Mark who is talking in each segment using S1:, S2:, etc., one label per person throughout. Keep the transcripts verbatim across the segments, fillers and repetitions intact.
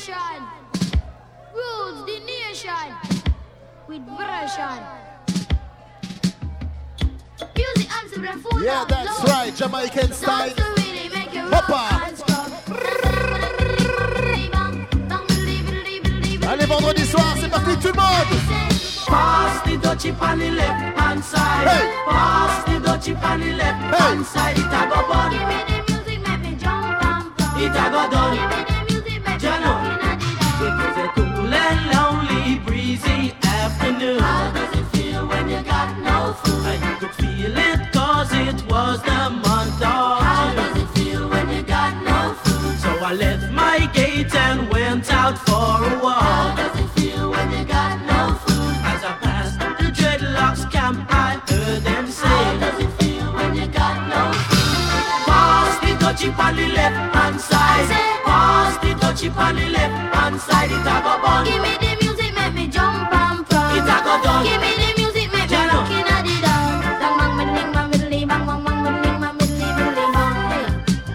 S1: generation rules the nation with version. Music answer the phone.
S2: Yeah, that's low. Right, Jamaican style. Hoppa. Allez, vendredi soir, c'est parti tout le monde.
S3: Pass the dutchie on the left hand side. Hey. Pass the dutchie on the left hey. hand side. It a go bun.
S1: Give me the music, make me jump and pump.
S3: It a go done.
S1: Give me the music, make me
S3: jump and it was a cool and lonely, breezy afternoon.
S1: How does it feel when you got no food?
S3: And you could feel it cause it was the month of
S1: How
S3: June.
S1: does it feel when you got no food?
S3: So I left my gate and went out for a walk.
S1: How does it feel when you got no food?
S3: As I passed the dreadlocks camp, I heard them say,
S1: how does it feel when you got no food?
S3: Pass the dutchie on the left hand side. Pass the dutchie on the left hand side. It a go bun.
S1: Give me the music, make me jump and pump.
S3: It a go done.
S1: Give me the music, make me look in a the down. Bang bang middling, bang middling, bang bang bang middling, bang middling, middling, bang.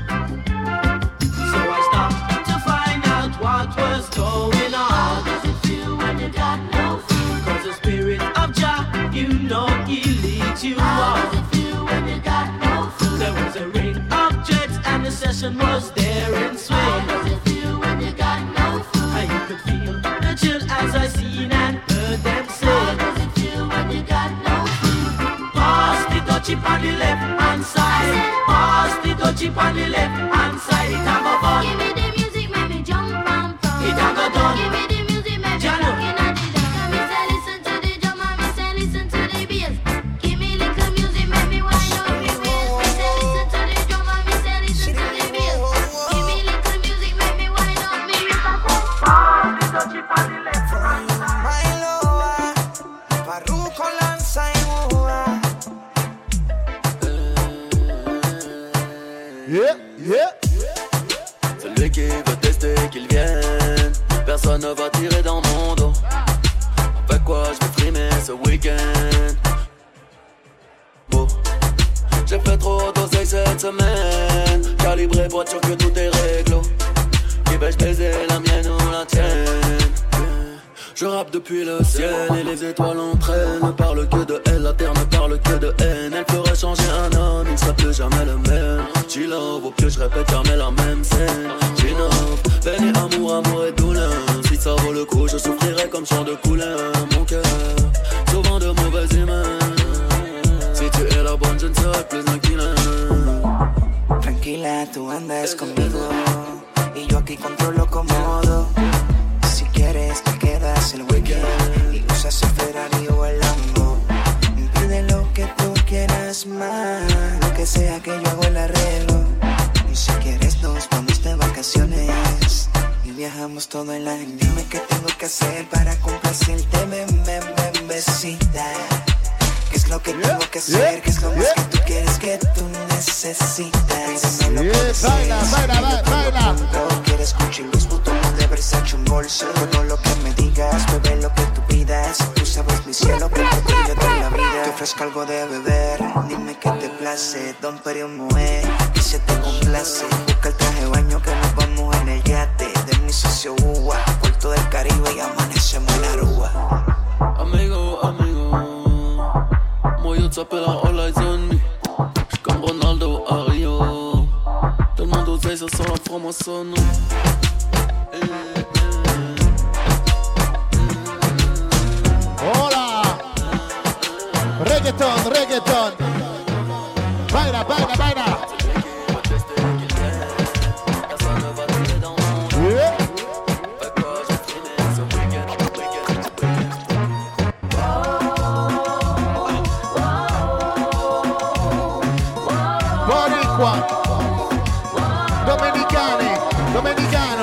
S3: So I stopped to find out what was going on.
S1: How does it feel when you got no food?
S3: Cause the spirit of Jah, you know he leads you
S1: How
S3: on.
S1: does it feel when you got no food?
S3: There was a ring of dreads and the session was there in swing.
S1: How does it feel when you got no food?
S3: And you could feel the chill as I seen and heard them say,
S1: how does it feel when you got no food?
S3: Pass the dutchie on the left hand side. Pass the dutchie on the left hand side. It a go bun.
S1: Give me the music, make me jump and pump.
S3: It a go done.
S1: Give me the music, make me
S3: Jano.
S1: look in a the down. Me say listen to the drum and me say listen to the bass. Give me little music, make me wind up me waist. Me say listen to the drum and me say listen to the bass. Give me little music, make me wind up me waist.
S3: Pass the dutchie on the left hand side.
S4: My loa, parruco lanza y búa.
S2: Yeah, yeah.
S5: Celui qui veut tester qu'il vienne. Personne ne va tirer dans mon dos. Avec quoi je vais frimer ce week-end. Bon, j'ai fait trop d'oseille cette semaine. Calibré pour être sûr que tout est réglo. Qui vais-je baiser, la mienne ou la tienne? Je rappe depuis le ciel et les étoiles entraînent. Ne parle que de elle, la terre ne parle que de haine. Elle ferait changer un homme, il ne serait plus jamais le même. G-Love, au plus je répète jamais la même scène. G-Love, peine et amour, amour et douleur. Si ça vaut le coup, je souffrirai comme chant de couleur. Mon cœur, souvent de mauvaises humeurs. Si tu es la bonne, je ne serai plus un killer.
S4: Tranquila, tú andas conmigo y yo aquí controlo cómodo. Si quieres te quedas el weekend y usas el Ferrari o el Lambo. Pide lo que tú quieras más, lo que sea que yo hago el arreglo. Y si quieres nos vamos de vacaciones y viajamos todo el año. Dime qué tengo que hacer para complacerte, ven, ven, ven, besita. ¿Qué es lo que yeah, tengo que hacer? Yeah, ¿qué es lo yeah. más que tú quieres que tú necesitas? Dímelo
S2: yeah,
S4: por
S2: baila, baila, baila, baila.
S4: ¿Quieres Gucci, Louis Vuitton de Versace, un bolso? Todo lo que me digas, bebé, lo que tú pidas. Tú sabes mi cielo, que por ti yo doy la vida. Te ofrezco algo de beber, dime qué te place. Don Perignon Moët, que se te complace. Busca el traje de baño que nos vamos en el yate de mi socio Uwa, Puerto del Caribe y amanecemos en Aruba.
S5: Amigo, amigo, moi yo t'appelle all eyes on me. J'suis comme Ronaldo à Rio. Tout le monde oseille, ça sent la franc-maçonne.
S2: Hola. Reggaeton, reggaeton. Baila, baila, baila. Yeah. Boricua. Domenicani, domenicano.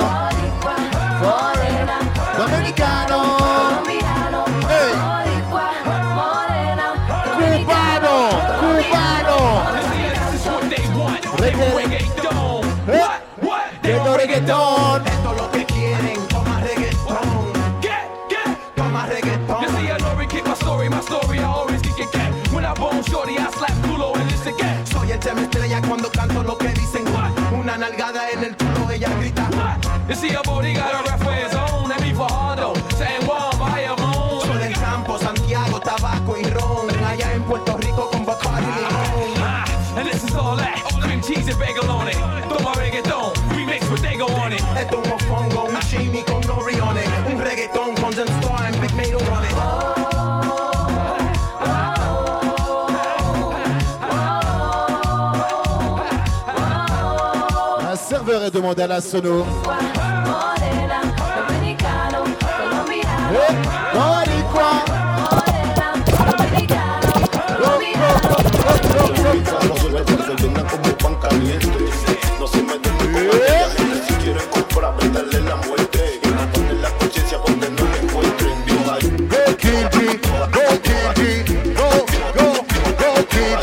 S2: Domenicano. Hey. Cubano, cubano. Reggaeton. Llegó reggaeton.
S6: Esto es lo que quieren, toma reggaeton.
S7: Get, get,
S6: Toma reggaeton.
S7: you see, I already kick my story, my story, I always kick it, get. When I bone shorty, I slap culo and this again.
S6: Soy el tema estrella cuando canto lo que dicen. Una nalgada en el culo, ella grita.
S7: You see, a booty got a Rafael. your bagel on it. Toma reggaeton, remix with Dago on it.
S6: Esto es un mofongo, un shimmy con nori on it. Un reggaeton con Zen Star and Big Mato on it.
S2: Un serveur est demandé à la sono.
S1: Morena, dominicano, colombiano.
S2: Eh, Boricua.
S1: Morena, dominicano, colombiano.
S8: Como pan caliente. No se meten con la gente. Si quieren comprar, venderle la muerte. Y no ponen la conciencia porque no me encuentren. Dios ahí.
S2: Go King G, go King G, go, go, go King G.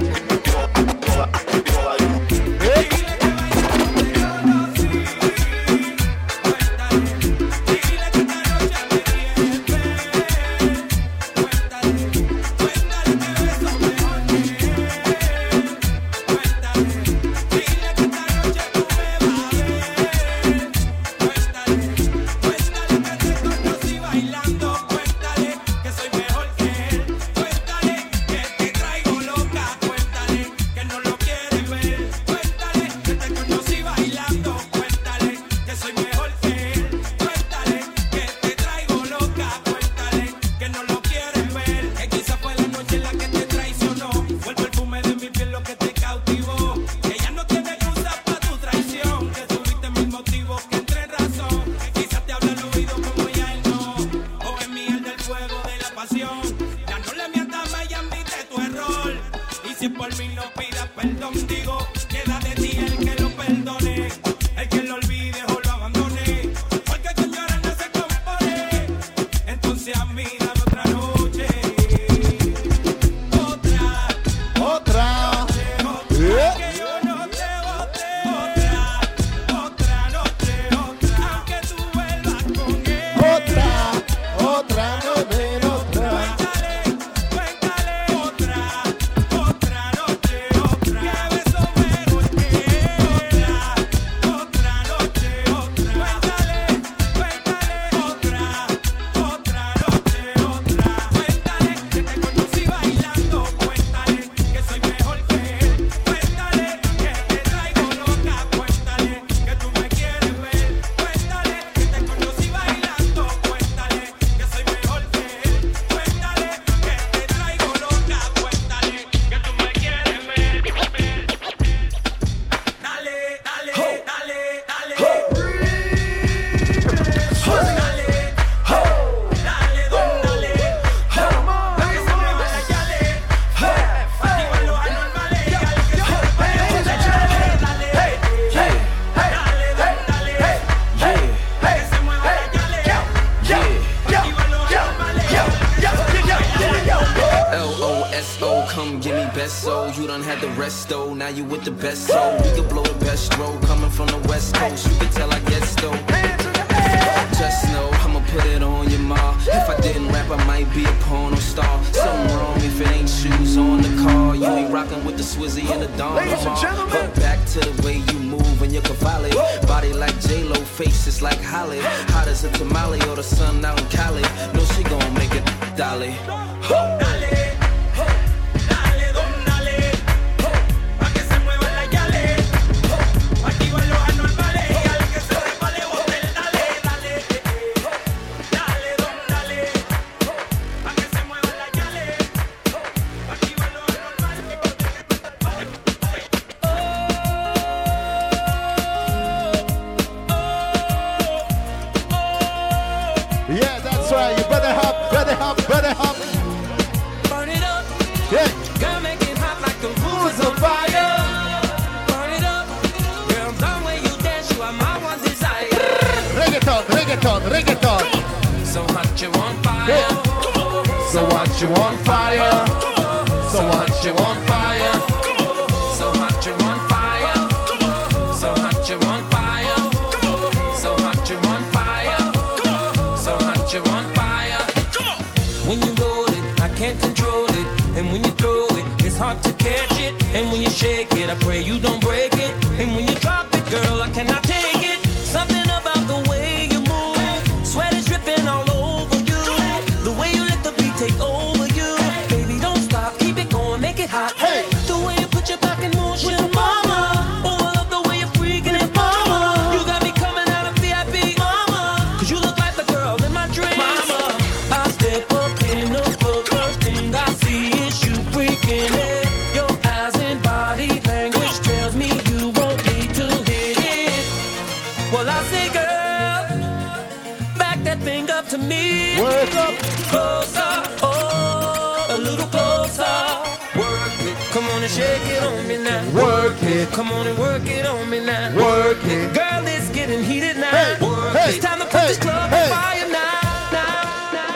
S9: Now you with the best, so we can blow the best roll. Coming from the west coast, you can tell I get stoked. Just know I'ma put it on your ma. If I didn't rap, I might be a porno star. Something wrong if it ain't shoes on the car. You ain't rocking with the Swizzy and the Don. But back to the way you move and your cavalli. Body like J-Lo, face is like Holly. Hot as a tamale or the sun out in Cali. No, she gon' make it dolly.
S2: Reggaeton, reggaeton.
S3: So hot you on fire.
S2: So hot you on fire. So hot you on fire.
S3: So hot you on fire. So hot you on fire. So hot you on fire. So hot you on fire. When you roll it, I can't control it. And when you throw it, it's hard to catch it. And when you shake it, I pray you don't break it. And when you drop it, girl, I cannot take it. Something about the way you move, sweat is dripping all over you. The way you let the beat take over you. Baby, don't stop, keep it going, make it hot. Hey, the way you put your back in motion, mama.
S9: back that thing up to me.
S2: Work up.
S9: Closer, oh, a little closer. Work it. Come on and shake it on me now.
S2: Work it.
S9: Come on and work it on me now.
S2: Work it.
S9: Girl, it's getting heated now.
S2: Hey,
S9: Work
S2: hey,
S9: It's time to put
S2: hey,
S9: this club
S2: hey.
S9: on fire now. now, now.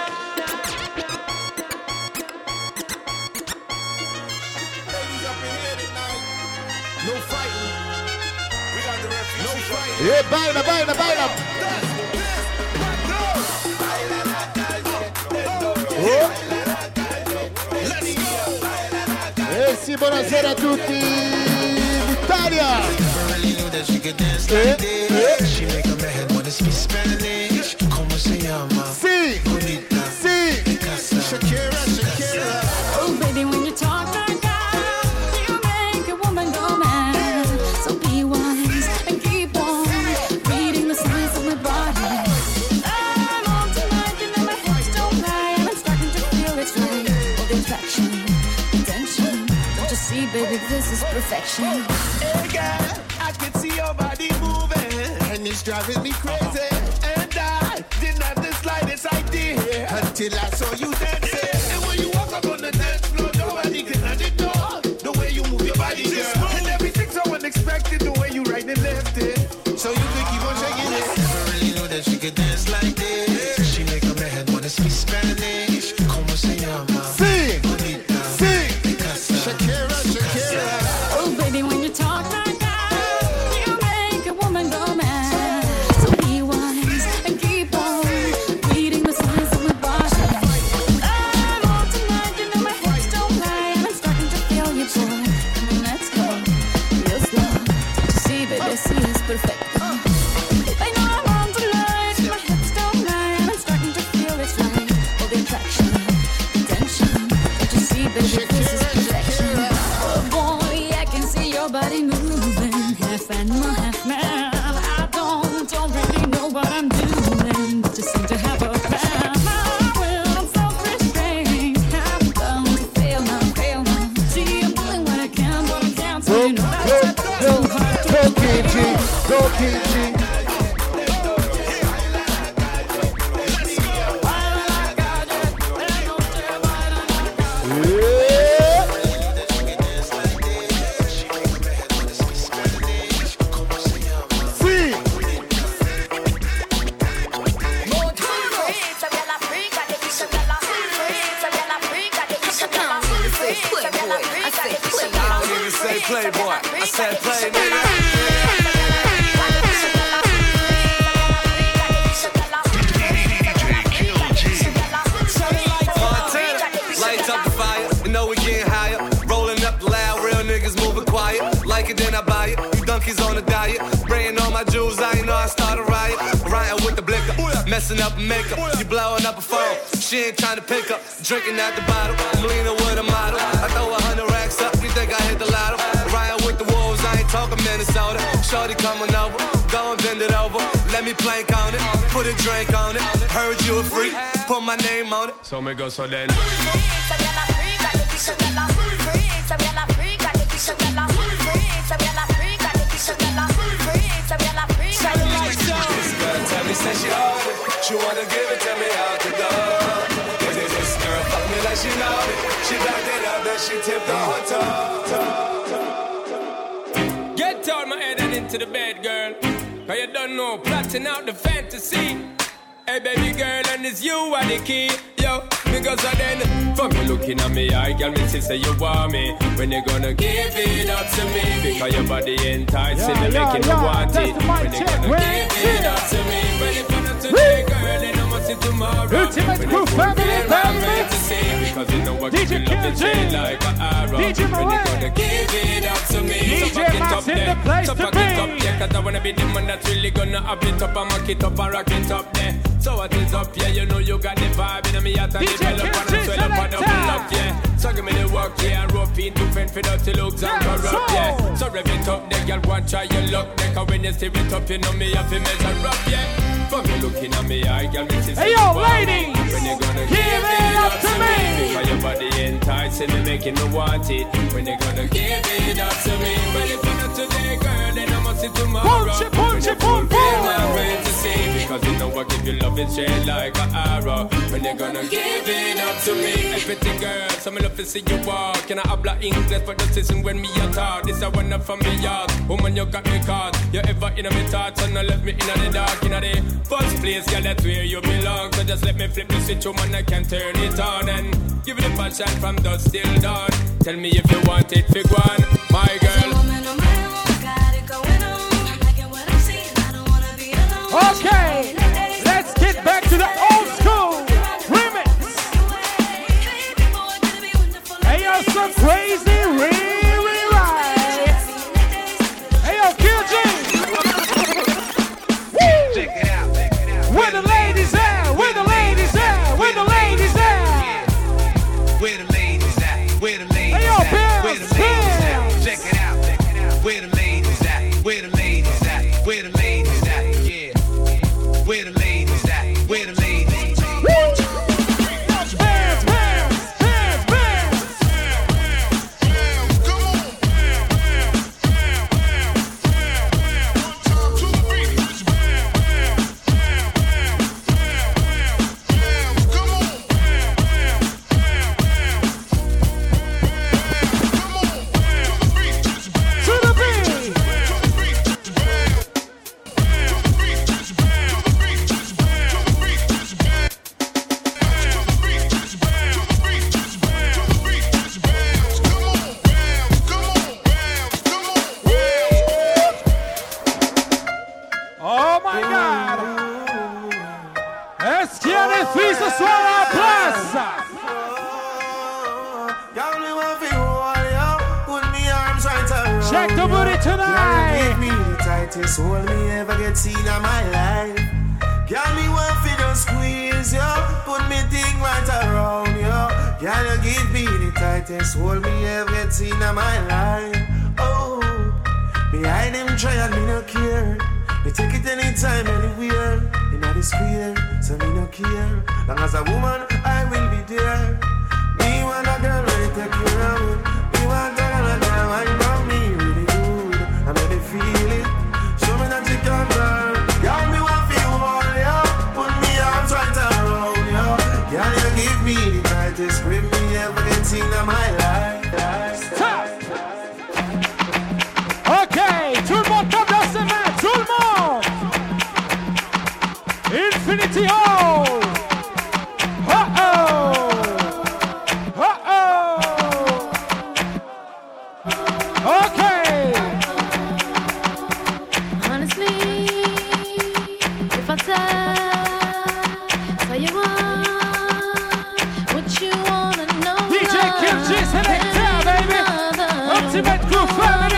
S8: Ladies up in here tonight. No fighting. We got the refuge. No fighting.
S2: Yeah, baila, baila, baila. Oh. Eh sì, buonasera a tutti d'Italia. Eh, eh. Sì, sì.
S8: Shakira, Shakira.
S1: Oh, baby, when you talk like that, you make a woman go mad. So be wise and keep on reading the signs of my body. I'm on tonight, you know my hips don't lie, and I'm starting to feel it's right. All the attraction, attention. Don't you see, baby, this is perfection.
S8: Hey girl, I can see your body moving, and it's driving me crazy. And I didn't have the slightest idea until I saw you dancing. And when you walk up on the dance floor, nobody can ignore the way you move your body, girl. And everything's so unexpected, the way you right and left it. So you can keep on shaking it. Never really knew that she could dance like this. She make a man wanna speak Spanish. Como se llama?
S2: Sì,
S8: Bonita.
S2: sì.
S8: Shakira, Shakira.
S1: Oh, baby, when you talk like that, you make a woman go mad. So be wise and keep on reading the signs of my body. I'm on tonight, you know my hips don't lie, and I'm starting to feel you, boy. Come on, let's go, real slow. See, baby, see, it's perfect. I know I'm on tonight, my hips don't lie, and I'm starting to feel it's right. All the attraction, attention. Don't you see, baby, this is perfection. Oh boy, I can see your body moving, half animal, half man. I don't, don't really know what I'm doing, but just seem to have a plan. My will, I'm self-restrained, I'm bound to fail now, fail now. See, I'm doing what I can, but I can't. So
S2: Go,
S1: you know
S2: go,
S1: that's
S2: go,
S1: too hard to
S2: go,
S1: do.
S2: Kimchi, go, Kimchi. Sì,
S9: I don't even say playboy. I said play, nigga. Montana, lights up the fire. You know we getting higher. Rolling up the loud, real niggas moving quiet. Like it, then I buy it. You donkeys on a diet. Spraying all my jewels, I ain't know I start a riot. Ryan with the blicker, messing up makeup. You blowing up a phone. She ain't trying to pick up. Drinking at the bottle. I'm leaning with a model. I throw a hundred racks up. You think I hit the lotto? Ryan with the wolves, I ain't talking Minnesota. Shorty coming over, go and bend it over. Let me plank on it, put a drink on it. Heard you a freak, put my name on it. So me go so then. Tell me, say she hard it. She wanna give it to me out the door. Cause if this girl fuck me like she know it, she backed it up, then she tipped the whole toe. Get out my head and into the bed, girl. Cause you don't know, plotting out the fantasy. Hey baby girl, and it's you are the key. Yo, because I then fuck me looking at me eye, girl, me say you want me. When you gonna give it up to me? Because your body enticing me,
S2: Yeah,
S9: making
S2: yeah,
S9: me want
S2: yeah.
S9: it.
S2: That's the mic
S9: When you
S2: check.
S9: gonna
S2: When
S9: give
S2: it's
S9: it up to me? When you gonna today, girl, then I must see tomorrow.
S2: Ultimate
S9: When
S2: Crew
S9: you
S2: family,
S9: fulfill my
S2: family.
S9: fantasy, because you know what
S2: D J
S9: you love the
S2: K G.
S9: chain like an arrow.
S2: D J
S9: When you
S2: Moran.
S9: gonna give it up to me?
S2: D J
S9: So fuck it
S2: Max
S9: up
S2: in
S9: there.
S2: the place
S9: So
S2: to
S9: fuck it up,
S2: be.
S9: yeah, cause I wanna be the man that's really gonna have it up and mock it up and rock it up there. So what is up, yeah, you know you got the vibe in me heart and
S2: D J
S9: develop and
S2: K G
S9: I swell up and
S2: selector.
S9: double up, yeah. So give me the work, yeah, and rope in to fend for dirty looks and
S2: Yes,
S9: corrupt,
S2: so.
S9: yeah. So rev it up, there, girl, go and try your luck, there, cause when you steer it up, you know me have to measure up, yeah. Fuck you looking at me eye, girl, me see
S2: Hey, yo,
S9: you want me.
S2: ladies,
S9: When you gonna
S2: give it up to me.
S9: Because your body enticing me, making me want it. When you gonna give it up to me? Well, if you're not today, girl, then I must see tomorrow.
S2: Punch it, punch
S9: When
S2: it,
S9: you
S2: punch
S9: fulfill
S2: it.
S9: my fantasy,
S3: love is straight like an arrow. When you gonna give it up to me? Everything girl, so me love to see you walk. Can I habla English for the season when me a talk? This a one up from me yard. Woman, you got me caught. You ever in my thoughts and I left me in the dark. In the first place, girl, that's where you belong. So just let me flip the switch, woman, I can turn it on. And give it a passion from dusk till dawn. Tell me if you want it, big one, my girl.
S10: Okay, let's get back to the old school remix. Hey, yo, some crazy re-rewrite. Hey, yo, Q G. Check it out. Where the ladies at? Where the ladies at? Where the ladies at?
S11: Where the ladies at? Where the ladies
S10: hey, yo,
S11: at?
S10: Bills,
S11: Where the ladies at? Check it out. Where the ladies at? Where the ladies at? Where the ladies at? Yeah. Where the ladies at? Where the ladies at?
S10: Bands, bands, bands, bands.
S8: Come on. One time to the beat. Come on.
S10: To the beat. Oh my God! Est-ce qu'il y a des filles ce soir en place? Check the booty tonight!
S4: Give me the tightest hold me ever get seen in my life. Can me one fit just squeeze you, put me thing right around you. Can you give me the tightest hold me ever get seen in my life? Oh, behind them try and me no care. Me take it anytime, anywhere. In the square, so me no care. Long as a woman, I will be there. Me want a girl ready to take care of me. Me want a girl that wine on me really good. I make me feel it. Show me that you can girl. Girl, me want feel all you. Put me arms right around you. Can you give me the tightest grip me ever get seen in my life?
S10: Stop! Okay, tout le monde tape dans ses mains, tout le monde! Infinity Hall! Uh-oh! Uh-oh! Okay!
S1: Honestly, if I tell you what, what you wanna know,
S10: D J Kim G, Selector, baby! Ultimate Crew Family!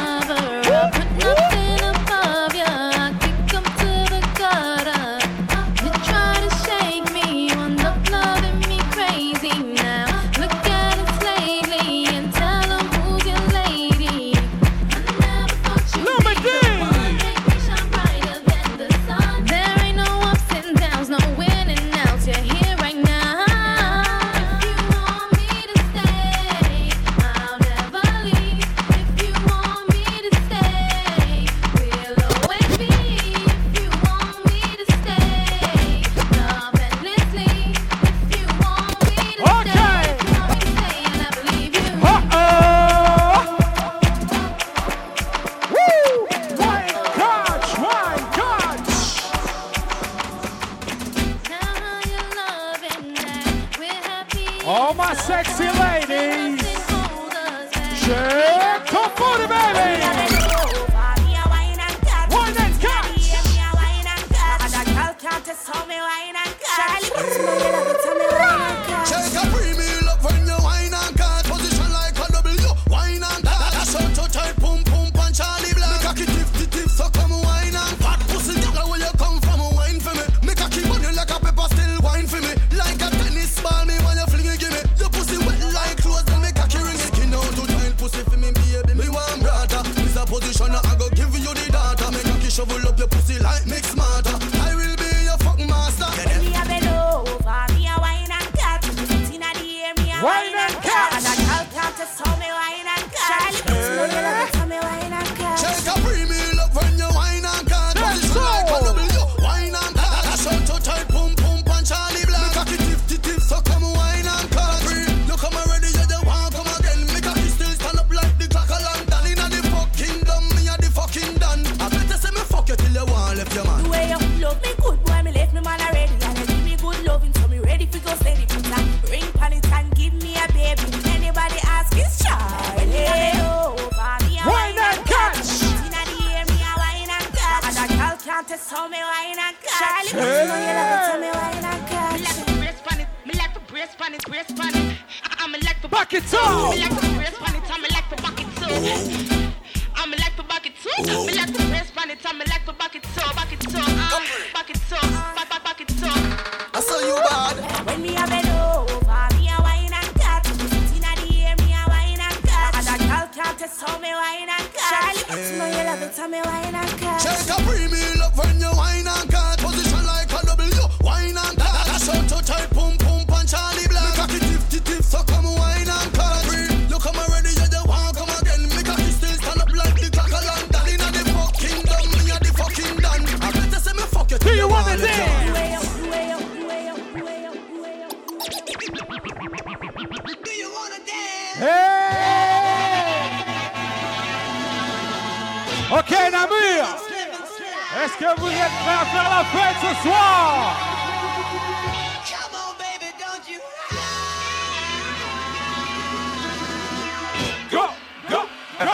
S10: All my sexy ladies, shake the booty, baby. Wine and catch.
S8: Shake a premium up when you wine and catch. Position like a W. Wine and catch. That's so to tight, pum pum punch Charlie Black. Make a tip tip tip, so come wine and fat pussy. Girl, where you come from, wine for me. Make a keep on you like a pepper, still wine for me. Like a tennis ball, me when you fling it, give me. Your pussy wet like clothes, then make a key ring it. Skin out to child pussy for me, baby. Me want brother. This a position, I go give you the data. Make a key shovel up your pussy like mix smarter. I will be your fuck master.
S12: When me a bend over,
S10: Back it up.
S1: Me like to brace pan it, and me like to back it too. And me like to back it too. Me like to brace pan it, and me like to back it too, back it too, uh, back it too, back back back it too.
S12: I saw you bad.
S1: When me a bend over, me a wine and cut. Inna the air, me a wine and cut. And that girl can't test how me wine and cut. Charlie, but you know you love it, and me wine and cut.
S12: Check a premium love when you wine and cut. Position like a W, wine and cut. That's how to type pum pum pan Charlie Black. Me cocky tip tip tip, so come wine and cut. You come already, you just want come again. Me cocky still stand up like the clock of London. Inna the fucking done, me a the fucking done. I better say me fuck you.
S10: Do you want it there?
S1: Way up, way up, way up, way up, way up.
S12: Do you wanna dance?
S10: Hey! Ok, Namur, est-ce que vous êtes prêts à faire la fête ce soir?
S12: Come on, baby, don't you?
S10: Go, go, go.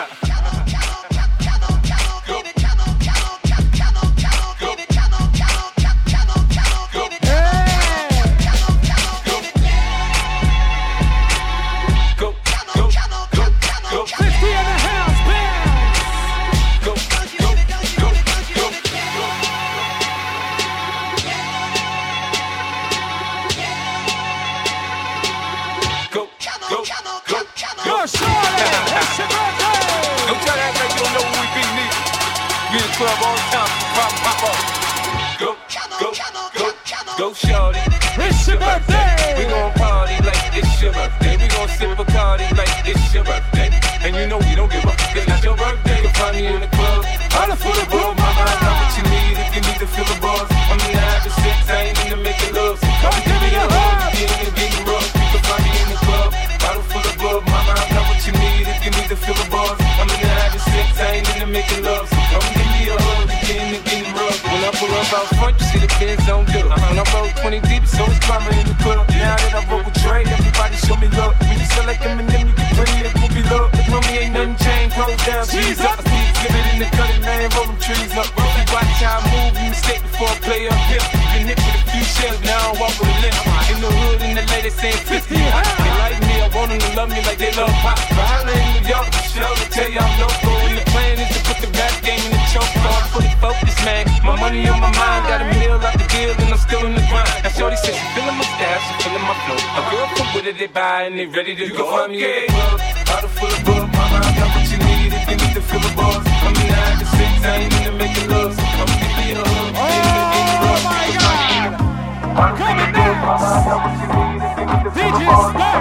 S11: Club all the time, pop, pop up. Go, go, go, go, shorty.
S10: It's your birthday.
S11: We gon' party like it's your birthday. We gon' sip Bacardi like it's your birthday. And you know we don't give up, it's not your birthday. You can find me in the club, all full of bug. Mama, I got what you need if you need to feel the buzz. I'm in the having sex, I ain't in the making love. So come give me a hug, get in and get rough. You can find me in the club, bottle full of bug. Mama, I got what you need if you need to feel the buzz. I'm in the having sex, I ain't in the making love. So come give me a hug, get in and get rough. When I pull up out front, you see the Benz on good. When I roll twenty deep, so it's climbing in the club. Now that I roll with Dre, everybody show me love. When you select them and them, you can bring it, we'll be love. The homie ain't nothing changed, roll down, G's up. I see it, give it in the cutting, man, roll them trees up. You watch how I move, you mistake before I play up here. Been hit with a few shells, now I walk with a limp. In the hood, in the lady saying fifty. They like me, I want them to love me like they love pop. But holla in New York, show to tell you I'm local. And the plan is to put the rap game in the choke. So I'm fully focused, man. My money on my mind, got a meal out the deal, and I'm still in the grind. Now shorty says she feeling my style, she feeling my flow. A girl from with it, they buy, and they ready to go. Find me at the club, bottle full of bug. Mama, I got what you need if you need to feel the buzz. I'm in the having sex, I ain't in the making love. So come give me a hug, get in and get rough.
S10: Oh my God! Coming next! D J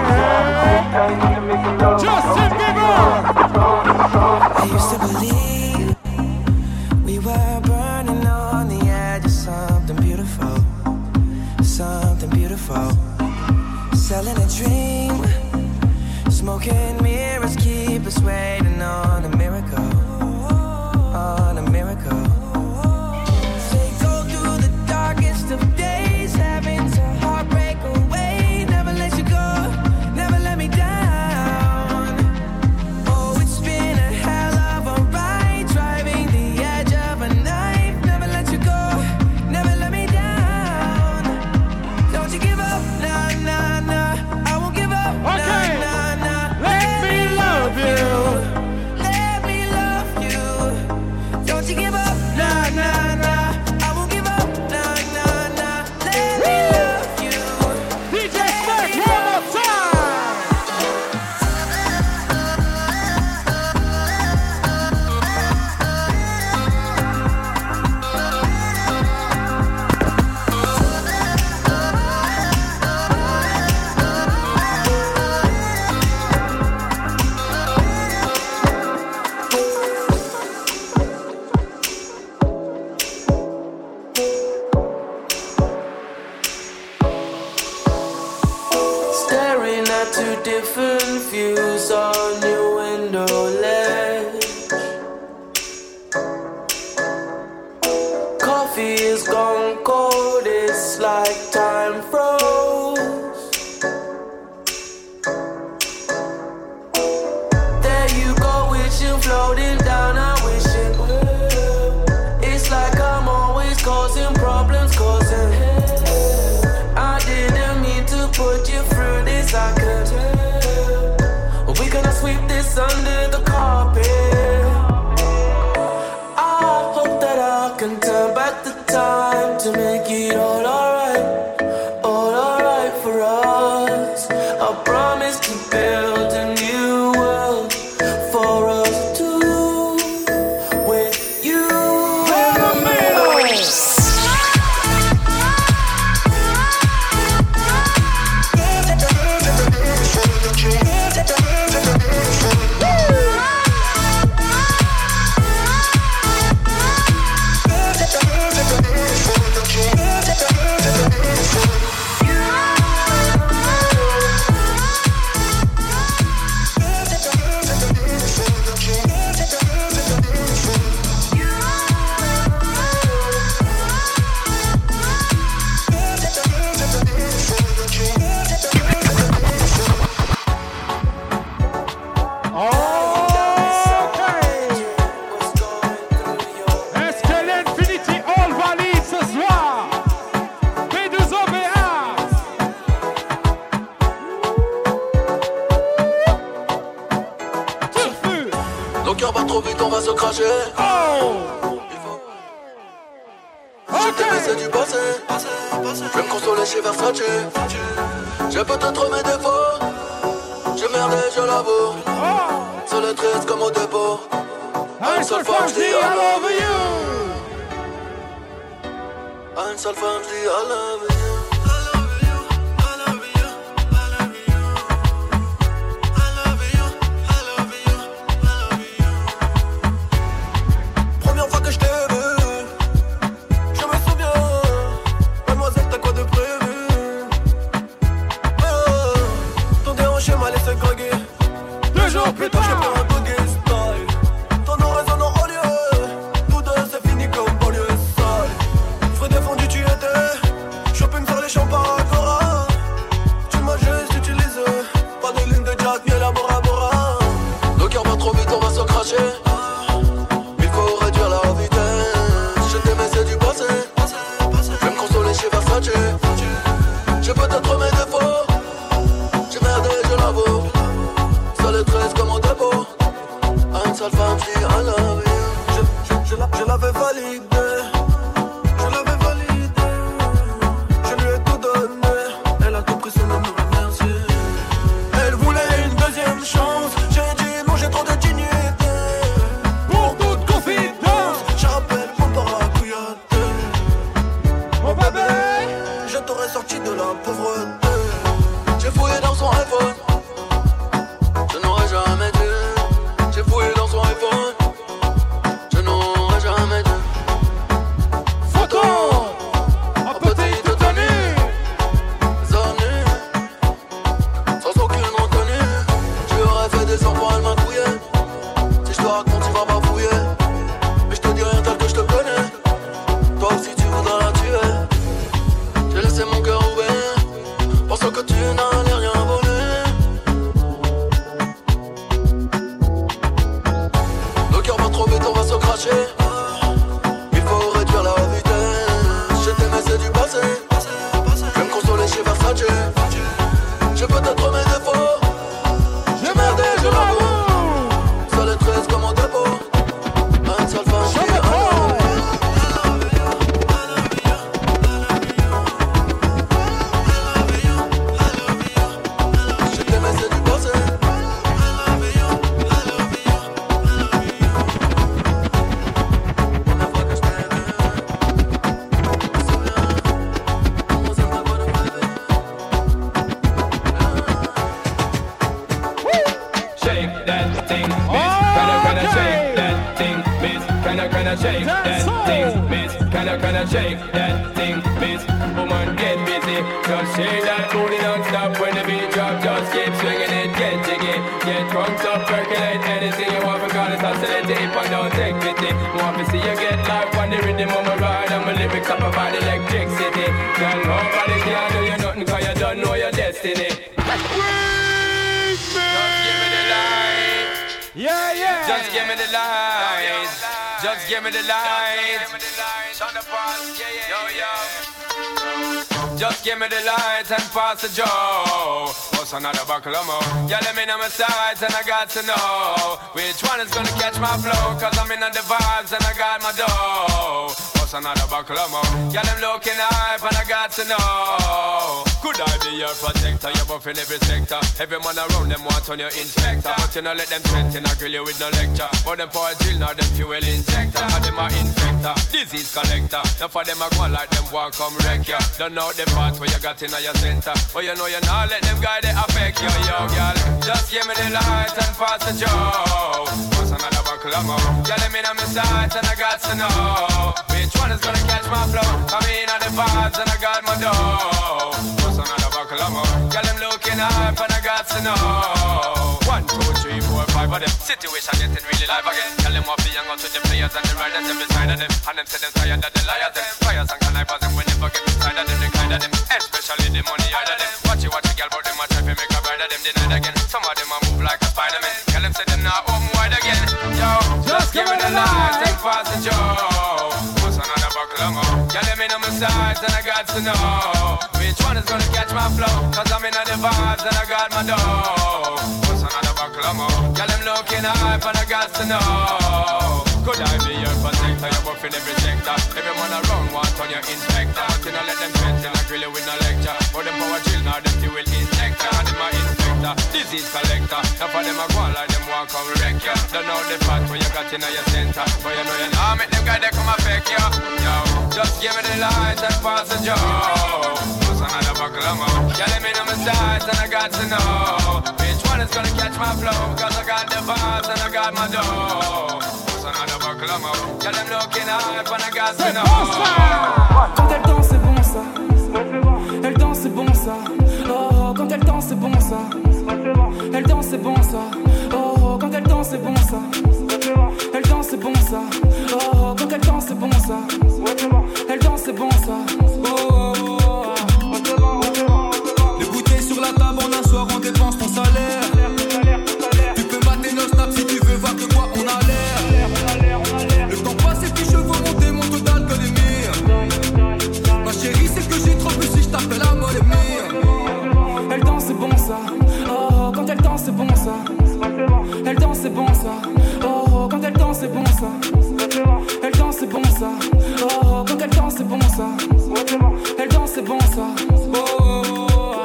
S10: Stern! Justin Bieber!
S4: I used to believe we were burning on the edge of something beautiful, something beautiful. Selling a dream, smoking mirrors keep us waiting on a miracle, on a miracle. They go through the darkest of days, having to heartbreak away. Never let you go, never let me down. Oh, it's been a hell of a ride, driving the edge of a knife. Never let you go, never let me down. Don't you give up, nah, nah, nah. I won't give up,
S10: Okay.
S4: nah, nah, nah.
S10: Let me love you.
S4: Let me love you. Don't you give up, nah, nah, nah. I won't give up, nah, nah, nah. Let me love you.
S10: D J Stern, one more time!
S4: Staring at two different views on your window ledge. Coffee is gone cold, it's like time froze. There you go, wishing floating down, I wish it would. It's like I'm always causing problems, causing
S5: to make it all alright, all alright for us. I promise to build a new world for us two, with you in the middle. Nos cœurs battent trop vite, on va se cracher. Oh. Je t'aimais, c'est du passé. Je vais me consoler chez Versace. J'ai peut-être mes défauts. J'ai merdé, je l'avoue. Sur le triste comme au dépôt. Une seule fois je dis I love you. Une seule fois je dis I love you.
S10: Deux jours plus tard,
S5: je prends un buggy style. Ton nom résonne en haut lieu. Tous deux c'est fini comme banlieue sale. Frais défendu tu étais. Shopping sur les champs par Agora. Tu m'as juste utilisé. Pas de ligne de Jack ni la Bora Bora. Le cœur va trop vite, on va se cracher. Il faut réduire la vitesse. Je t'aimais, c'est du passé. Je vais me consoler chez Versace. J'ai peut-être mes défauts. J'ai merdé, je l'avoue. Seul et treize comme au dépôt. À une seule femme, je dis I love you. Je, je, je, la, je l'avais validé. Je l'avais validé. Je lui ai tout donné. Elle a tout pris sans me remercier. Elle voulait une deuxième chance. J'ai dit non, j'ai trop de dignité.
S10: Pour toute confidence,
S5: j'appelle mon parapluiate.
S10: Mon bébé,
S5: je t'aurais sorti de la pauvreté. J'ai fouillé dans son iPhone. Je n'aurais jamais dû. J'ai fouillé dans son iPhone. Je n'aurais jamais dû.
S10: Photo en petite tenue.
S5: Zone sans aucune retenue. Tu aurais fait des enfants, elle m'a couillé. Si je te raconte, tu vas bafouiller. Mais je te dis rien tel que je te connais. Toi aussi tu voudras la tuer. J'ai laissé mon cœur ouvert. Pensant que tu n'allais rien voler. Le cœur va trop vite, on va se cracher. Il faut réduire la vitesse. Je t'aimais, c'est du passé. Je vais me consoler chez Versace. J'ai peut-être mes défauts. J'ai merdé, je l'avoue. Seul et treize comme au dépôt. Un seul fan, je dis I love you. Je t'aimais, c'est du passé. Première fois que je t'ai vu. Souviens, on s'aime pas quoi de rêver.
S11: Shake that thing, miss. Kinda kinda shake that thing, miss. Kinda kinda shake that thing, miss. Kinda kinda shake that thing, miss. Woman, get busy. Just shake that booty non-stop when the beat drop. Just keep swinging it, get jiggy. Get drunk, up, percolate anything you want because it's oscillate deep and don't take pity. Want to see you get life on the rhythm of my ride and my lyrics up about electricity. Girl, nobody can do you nothing cause you don't know your destiny.
S10: yeah, yeah.
S11: Just give me the light. Just give me the light. Just give me the light and pass the joe. What's another buckle of more? Yeah, let me know my sides and I got to know which one is gonna catch my flow. Cause I'm in on the vibes and I got my dough. What's another buckle of more? Yeah, them looking hype and I got to know. Could I be your protector? You're buff in every sector. Every man around them want on your inspector. But you know let them threaten, I grill you with no lecture. But them for a drill, now them fuel injector. And them are infector, disease collector. Now for them I go like them walk come wreck ya. Don't know the parts where you got in your center. But you know you not let them guide they affect you, yo, girl. Just give me the light and pass the joe. What's another buckle of more? Yeah, let me know my sights and I got to know which one is gonna catch my flow. Come in on the vibes and I got my dough. What's another buckle of more? Yeah, them looking hype and I got to know. One, two, three, four, five of them. Situation getting really live again. Tell them what be young out to the players and the riders every side of them. And them say them tired of the liars them. Fires and connivers and we never get inside of them. They kind of them, especially the money out of them. Watch it, watch it, girl, but them a try to make a bride of them denied again. Some of them a move like a Spider-Man. Tell them say them not open wide again. Yo, just give me the light and pass the joe. What's another buckle of more? Yeah, let me know my sides and I got to know which one is gonna catch my flow. Cause I'm in the vibes and I got my dough. What's another buckle of more? Yeah, them looking hype and I got to know. Could I be your protector? You're buff in every sector. Every man around want on your inspector. But you know let them threaten, I grill you with no lecture. But them power chill, now them fuel injector. And them a infector, disease collector. Now for them a go on like them walk on wreck ya. Don't know the part where you got in your center. But you know you know make them guys they come affect ya. Yo, just give me the light and pass the joe. What's another buckle of more? Yeah, let me know my sides and I got to know which one is gonna catch my flow. Cause I got the vibes and I got my dough. Another buckle of more. Yeah, them looking hype and I got to know.
S13: Quand elle danse c'est bon ça. Elle danse c'est bon ça. Oh, quand elle danse c'est bon ça. Elle danse c'est bon ça. Oh, quand elle danse c'est bon ça. Elle danse c'est bon ça. Oh, quand elle danse c'est bon ça. Elle danse c'est bon ça. Oh, oh, oh. Les bouteilles sur la table, on assoit, on dépense ton salaire. Tu peux mater nos snaps si tu veux voir de quoi on a l'air. Le temps passe et puis je veux monter mon total que les mires. Ma chérie, c'est que j'ai trop plus si je t'appelle la molle mire. Elle danse c'est bon ça. Oh, quand elle danse c'est bon ça. Elle danse c'est bon ça. Oh, quand elle danse c'est bon ça. Elle danse c'est bon ça. Oh, quand elle danse c'est bon ça. Elle danse c'est bon ça. Oh, oh, oh.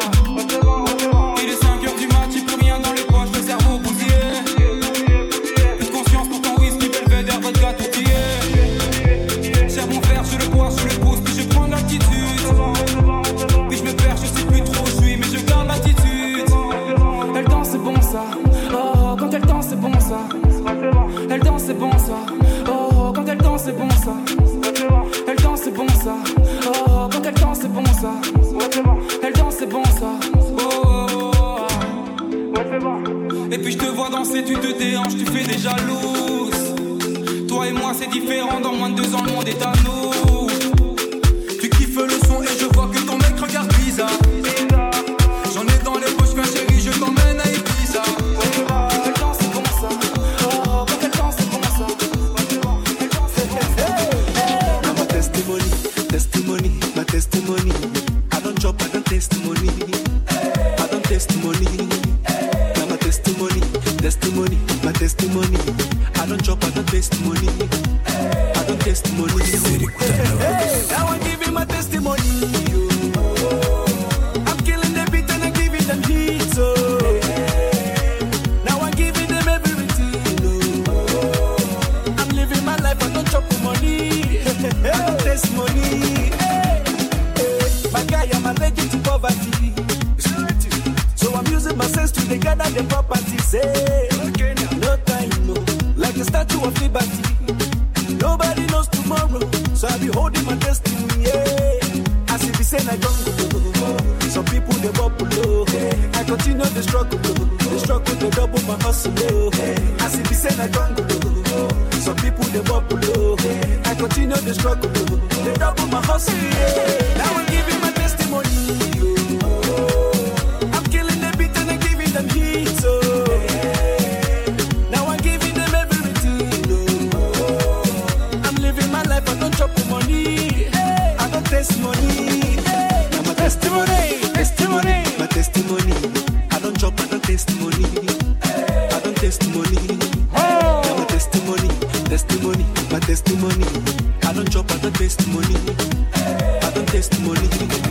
S13: Il est cinq heures du mat, j'ai plus rien dans les poches, le cerveau bousillé. Plus de conscience pour ton whisky, belvédère, vodka, tortillé. Serre mon verre, je le bois, je le pose, puis je prends l'attitude. Puis je me perds, je sais plus trop où je suis, mais je garde l'attitude. Elle danse c'est bon ça. Oh, quand elle danse c'est bon ça. Elle danse c'est bon ça. Oh, quand elle danse c'est bon ça. Elle danse c'est bon ça. Oh, quand elle danse c'est bon ça. Elle danse c'est bon ça. Oh, oh, oh. Et puis je te vois danser, tu te déhanches, tu fais des jalouses. Toi et moi c'est différent, dans moins de deux ans le monde est à nous. Tu kiffes le son et je vois que ton mec regarde bizarre. J'en ai dans les poches, ma chérie, je t'emmène à Ibiza. Elle danse c'est bon ça. Oh, quand elle danse c'est bon ça. Elle danse c'est bon ça.
S14: Now my testimony, testimony, my testimony. I don't chop, I don't testimony. I don't testimony. Now my testimony, testimony, my testimony. I don't chop, I don't testimony. I don't testimony. Now I give him my testimony. I'm killing the beat and I'm giving them heat. So now I'm giving them everything. I'm living my life, I don't chop the money. I don't testimony. My guy, I'm allergic to poverty. So I'm using my sense to gather the properties. Hey, no time, no. Like a statue of liberty. Nobody knows tomorrow, so I be holding my destiny. Yeah. As if it's in a jungle, some people they bubble low. I continue the struggle, the struggle to double my hustle. As if it's in a jungle, some people they bubble low. I continue the struggle, they double my hustle. Now I'm giving my testimony. I'm killing the beat and I'm giving them heat. So now I'm giving them everything. I'm living my life, I don't chop the money. I don't testimony. Now my testimony, testimony, my testimony. I don't chop, I don't testimony. I don't testimony. Now my testimony, testimony, my testimony. I don't chop, I don't testimony. testimony.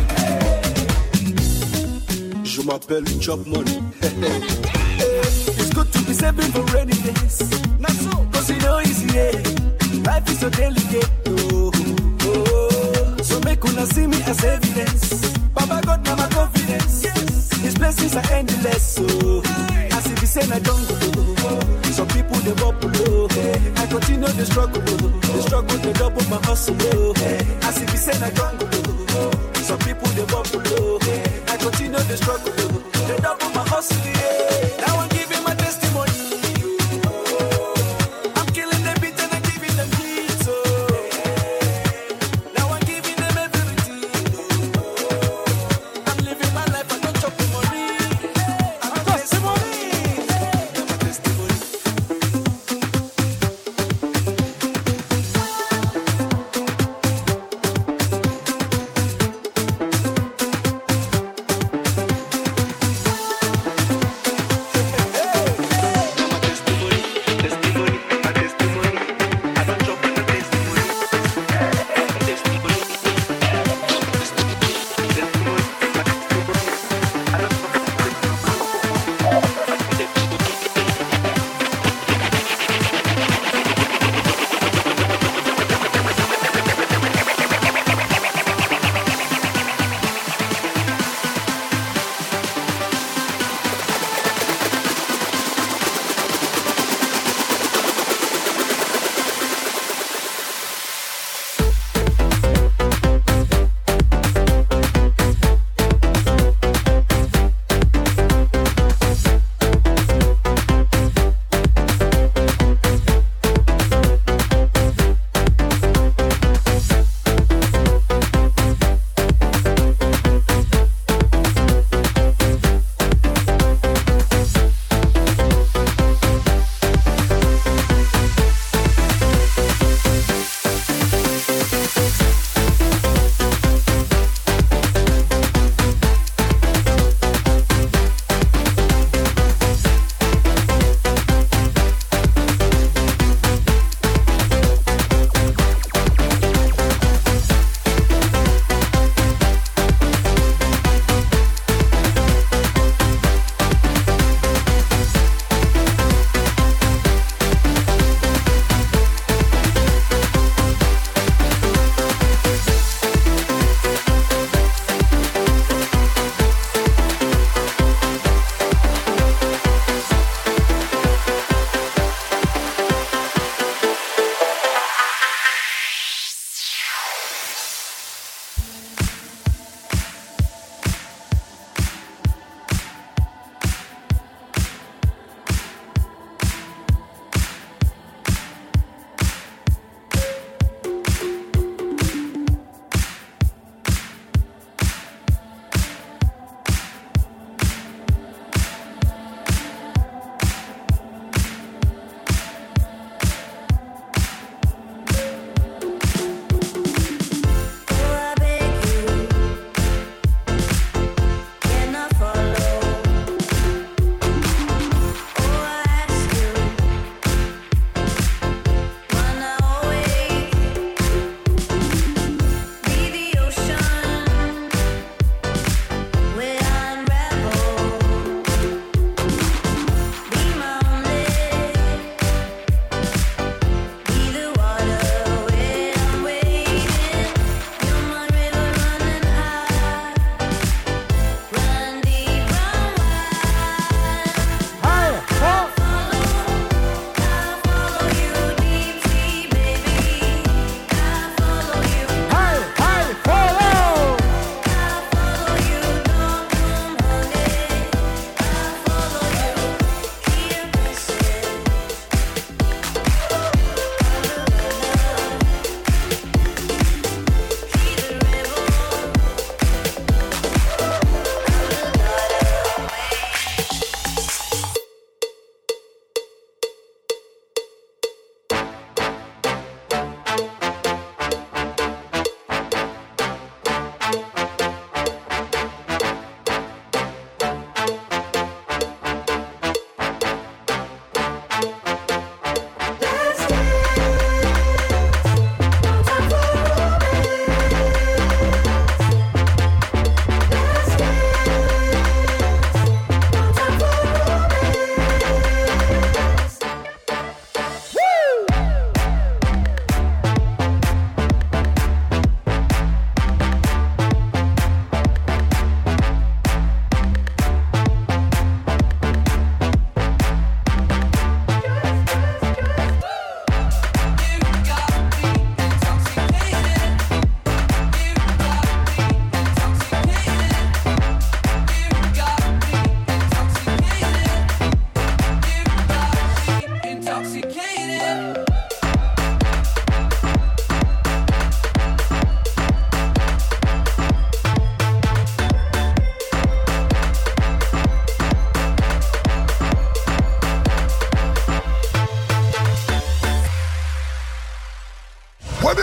S14: Je m'appelle Chop Money. It's good to be saving for rainy days. Not so, cause you know easy, yeah. Life is so delicate. Oh, oh. So make una see me as evidence. Baba God, now my confidence. Yes. His blessings are endless. So, as if he said I don't go. Some people they bubble low. I continue the struggle. The struggle they double my hustle. As if he said I don't go. Some people they bubble low. I continue the struggle. They double my hustle. Now I'm giving my testimony. I'm killing the beat and I'm giving them hits. Oh. Now I'm giving them everything. I'm living my life. I don't chop the money. I'm a testimony. I'm a testimony.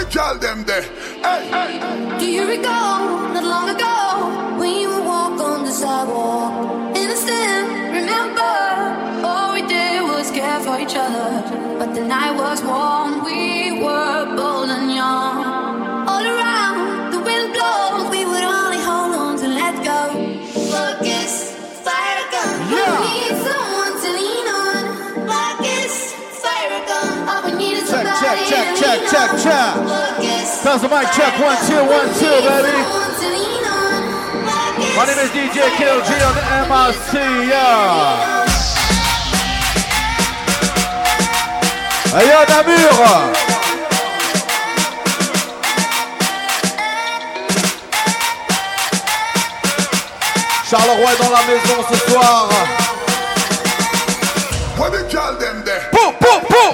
S8: girl them there. Hey, hey.
S1: Do you recall not long ago when you would walk on the sidewalk? Innocent, remember, all we did was care for each other. But the night was warm, we were bold and young. All around, the wind blows, we would only hold on to let go. Focus, fire gun, yeah. We need someone to lean on. Focus, fire gun, all we need is somebody
S2: check, check,
S1: to
S2: check,
S1: lean
S2: check,
S1: on.
S2: check.
S1: Focus,
S2: Sounds of mic check, one, two, one, two, baby. My name is D J K L G on the M R C, yeah. Aïe, Namur. Charleroi est dans la maison ce soir.
S8: What the girl them there?
S2: Boum, boum, boum.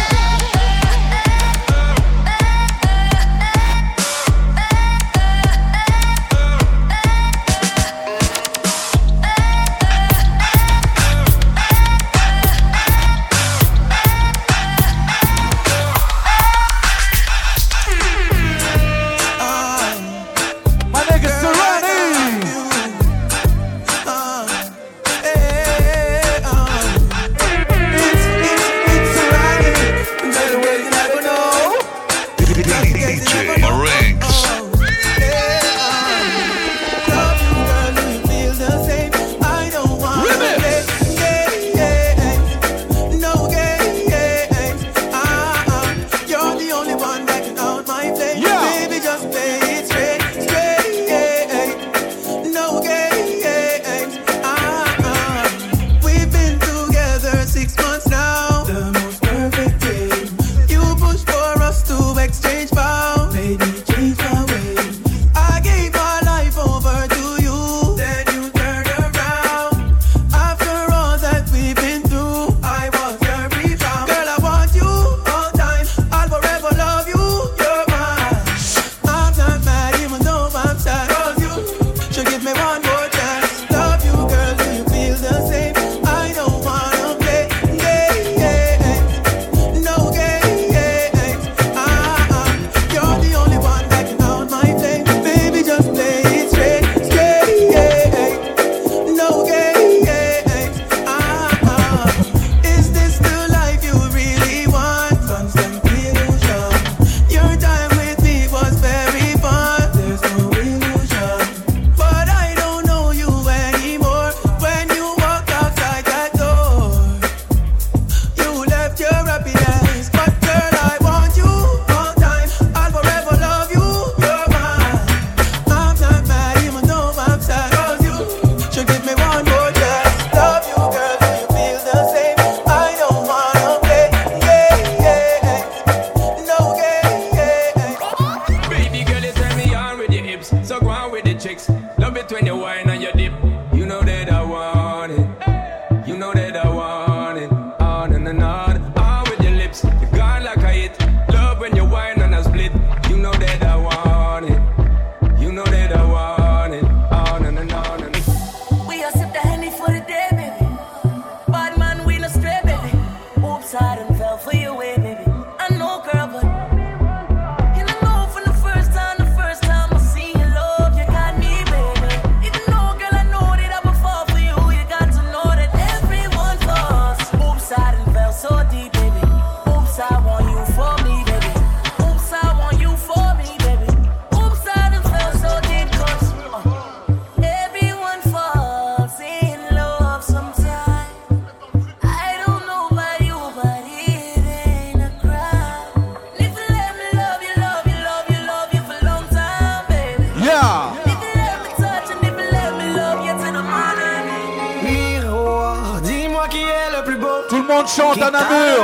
S2: Chante à Namur.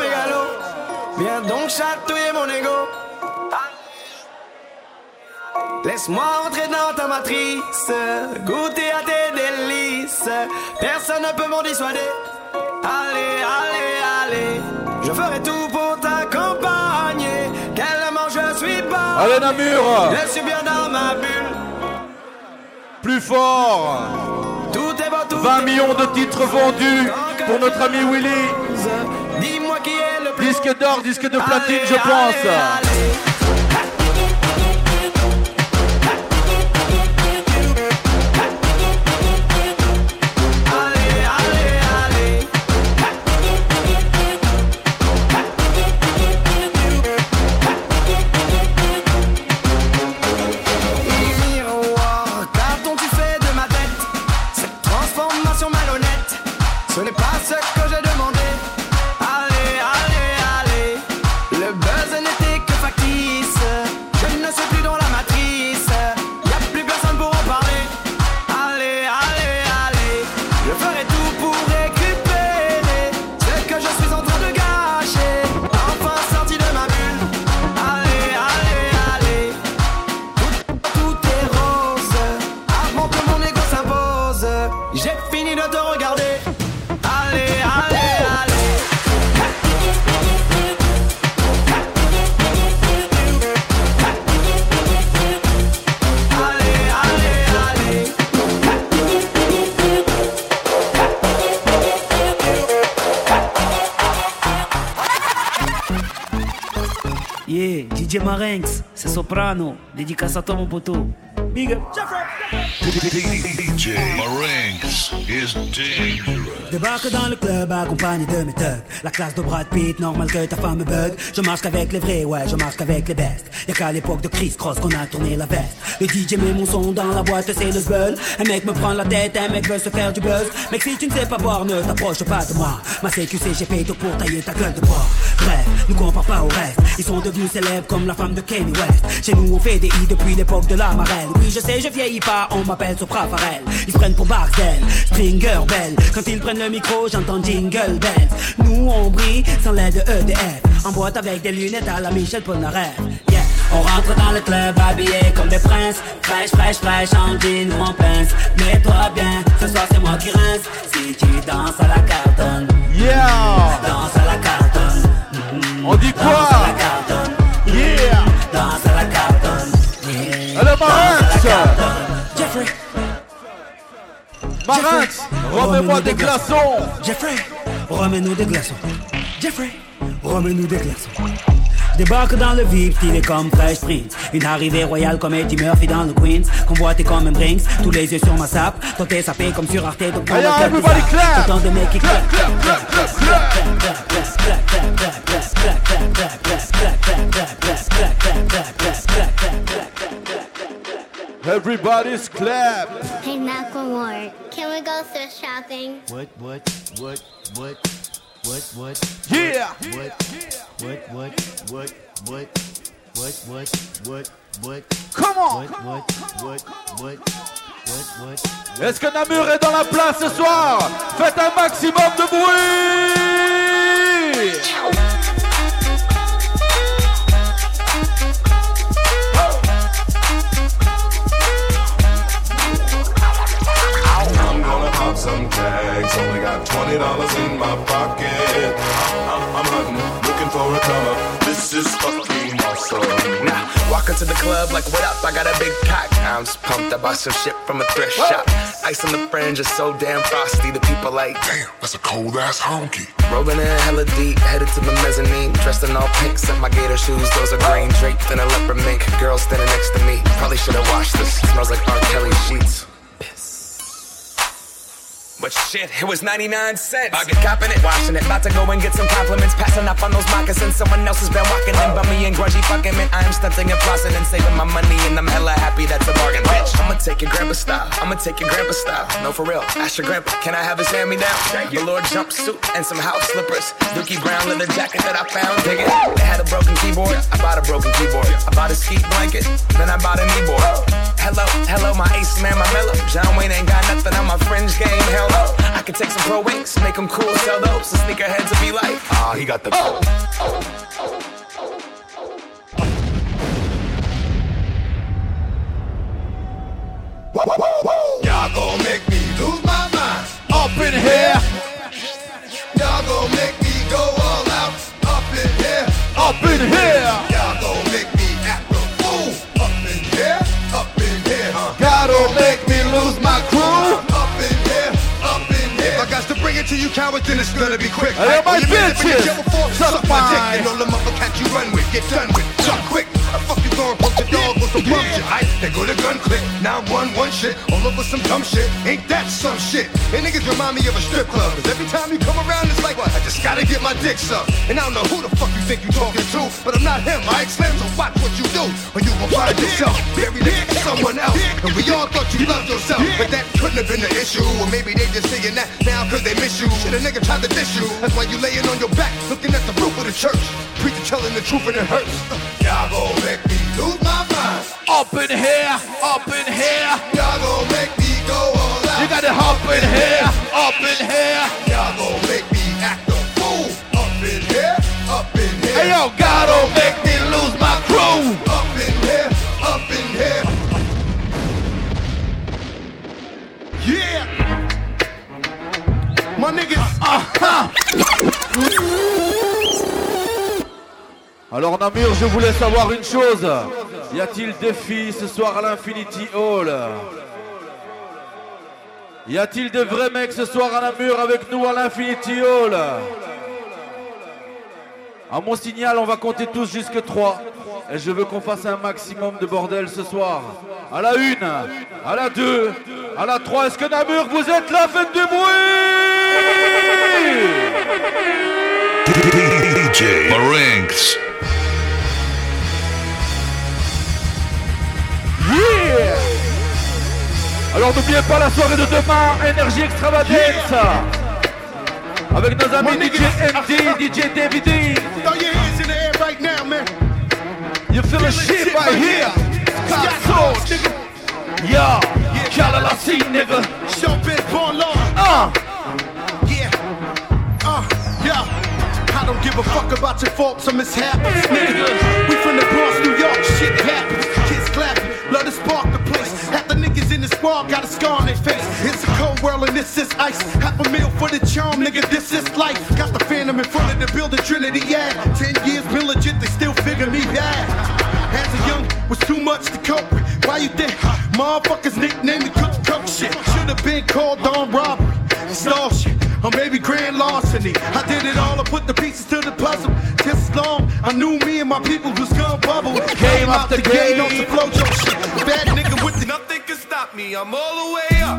S14: Viens donc chatouiller mon ego. Laisse-moi entrer dans ta matrice, goûter à tes délices. Personne ne peut m'en dissuader. Allez, allez, allez. Je ferai tout pour t'accompagner. Tellement je suis pas.
S2: Allez Namur.
S14: Je suis bien dans ma bulle.
S2: Plus fort.
S14: Tout est beau, tout
S2: vingt millions de titres vendus pour notre ami Willy.
S14: Dis-moi qui est le plus
S2: disque d'or, disque de platine,
S14: allez,
S2: je pense.
S14: Allez, allez.
S15: D J Marinx, c'est Soprano, dédicace à toi mon poteau. Big up.
S16: D J Marinx is dangerous.
S15: Débarque dans le club accompagné de mes thugs. La classe de Brad Pitt, normal que ta femme me bug. Je marche qu'avec les vrais, ouais, je marche qu'avec les bestes. Y'a qu'à l'époque de Chris Cross qu'on a tourné la veste. Le D J met mon son dans la boîte, c'est le zbeul. Un mec me prend la tête, un mec veut se faire du buzz. Mec, si tu ne sais pas boire, ne t'approche pas de moi. Ma C Q C, j'ai fait tout pour tailler ta gueule de bois. Bref, nous compare pas au reste. Ils sont devenus célèbres comme la femme de Kanye West. Chez nous, on fait des i depuis l'époque de la marelle. Oui, je sais, je vieillis pas, on m'appelle Sopra Farel. Ils se prennent pour Barcel, Stringer Bell. Quand ils prennent le micro, j'entends Jingle Bells. Nous, on brille sans l'aide de E D F. En boîte avec des lunettes à la Michel Polnareff. Yeah. On rentre dans le club habillé comme des princes. Fraîche, fraîche, fraîche, en jean ou en pince. Mets-toi bien, ce soir c'est moi qui rince. Si tu danses à la cartonne,
S2: yeah.
S15: Danse à la cartonne. Mm-hmm.
S2: On dit quoi?
S15: Danse à la cartonne.
S2: Yeah.
S15: Danse à la cartonne. Yeah.
S2: Allez, Marinx.
S15: Jeffrey.
S2: Marinx, remets-moi des glaçons.
S15: Jeffrey, remets-nous des glaçons. Jeffrey, remets-nous des glaçons. Débarque dans le vif, stylé comme Fresh Prince. Une arrivée royale comme Eddie Murphy dans le Queens. Convoité comme un Brinks, tous les yeux sur ma sape. Toi t'es sapé comme sur Arte, donc dans le club
S2: everybody clap.
S15: Autant de mecs qui clap, clap, clap, clap, clap,
S2: Everybody's clap.
S1: Hey, Macklemore, can we go thrift shopping?
S17: What, what, what, what, what, what?
S2: Yeah.
S17: What, what, what, what, what, what, what, what, what?
S2: Come on.
S17: What, what, what, what, what, what?
S2: Est-ce que Namur est dans la place ce soir? Faites un maximum de bruit.
S18: Some tags, only got twenty dollars in my pocket. I'm, I'm hunting, looking for a come up. This is fucking awesome.
S9: Now, walk into the club like, what up? I got a big pack. I'm just pumped. I bought some shit from a thrift shop. Ice on the fringe is so damn frosty. The people like,
S16: damn, that's a cold ass honky.
S9: Rolling in hella deep, headed to the mezzanine. Dressed in all pink, set my gator shoes. Those are green draped in a leopard mink. Girl standing next to me. Probably should've washed this. Smells like R. Kelly sheets. But shit, it was ninety-nine cents. I get copping it, washing it. About to go and get some compliments. Passing up on those moccasins. Someone else has been walking in. Bummy and grungy fucking man. I am stunting and flossing and saving my money. And I'm hella happy that's a bargain, bitch. I'ma take your grandpa style. I'ma take your grandpa style. No, for real. Ask your grandpa, can I have his hand-me-down? Velour jumpsuit and some house slippers. Dookie brown leather jacket that I found. Dig it. They had a broken keyboard. I bought a broken keyboard. I bought a ski blanket. Then I bought a kneeboard. Hello, hello, my ace man, my mellow. John Wayne ain't got nothing on my fringe game. Hell no. I can take some pro wings, make them cool, sell those. The sneakerheads will be like, ah, oh, he got the. Oh.
S18: Y'all gon' make me lose my mind.
S2: Up in here.
S18: Y'all gon' make me go all out. Up in here.
S2: Up in here.
S18: Y'all gon' make me act a fool. Up in here. Up in here. Huh?
S2: Gotta make me lose my crew.
S18: Up in here. Up in here. If I got to bring it to you cowards, then it's gonna be quick.
S2: Hey, my bitches.
S18: Suck my dick and all the motherfuckers you run with. Get done with. Suck quick. I fuck you going pump the dog with some bum shit. Ice, they go to gun click. Now one one shit. All over some dumb shit. Ain't that some shit? And niggas remind me of a strip club. Cause every time you come around, it's like, what? I just gotta get my dick sucked. And I don't know who the fuck you think you talking to, but I'm not him. I Slim, so watch what you do, or you will find yourself buried next to someone else. And we all thought you loved yourself, but that couldn't have been the issue. Or maybe they just saying that now cause they miss you. Shit, a nigga tried to diss you. That's why you laying on your back, looking at the roof of the church. Preacher telling the truth and it hurts. Y'all gon' make me lose my mind.
S2: Up in here, up in here.
S18: Y'all gon' make me go all out.
S2: You gotta hop in here, up in here.
S18: Y'all gon' make me act a fool. Up in here, up in here.
S2: Hey yo, gotta make me lose my crew.
S18: Up in here, up in here. Yeah. My niggas.
S2: Uh-huh. Alors Namur, je voulais savoir une chose. Y a-t-il des filles ce soir à l'Infinity Hall? Y a-t-il des vrais mecs ce soir à Namur avec nous à l'Infinity Hall? À mon signal, on va compter tous jusque trois. Et je veux qu'on fasse un maximum de bordel ce soir. À la une, à la deux, à la trois. Est-ce que Namur, vous êtes là? Faites du bruit!
S16: D J Marinx.
S2: Yeah! Alors n'oubliez pas la soirée de demain, Énergie Extravagance. Yeah! Avec nos amis D J M D, D J David D.
S8: Throw your hands in the air right now, man.
S2: You feel the shit right here. Scott Soch. Yeah. Kalalasi, nigga.
S8: Show bitch born law.
S2: Uh.
S8: Yeah. Uh. Yeah. I don't give a fuck about your faults or mishaps, nigga. We from the Bronx, New York. Shit happens. Kids clapping. Love to spark the place. Half the niggas in the squad got a scar on their face. It's a cold world and this is ice. Half a meal for the charm, nigga. This is life. Got the phantom in front of the building, Trinity, yeah. Ten years been legit, they still figure me bad. As a young, was too much to cope with. Why you think motherfuckers nicknamed me Cook Cook shit? Should've been called on robbery, stall shit, or maybe grand larceny. I did it all, I put the pieces to the puzzle. Just as long I knew me and my people was gonna bubble. Came out the gate on some flojo shit. Bad nigga with the nothing can stop me. I'm all the way up.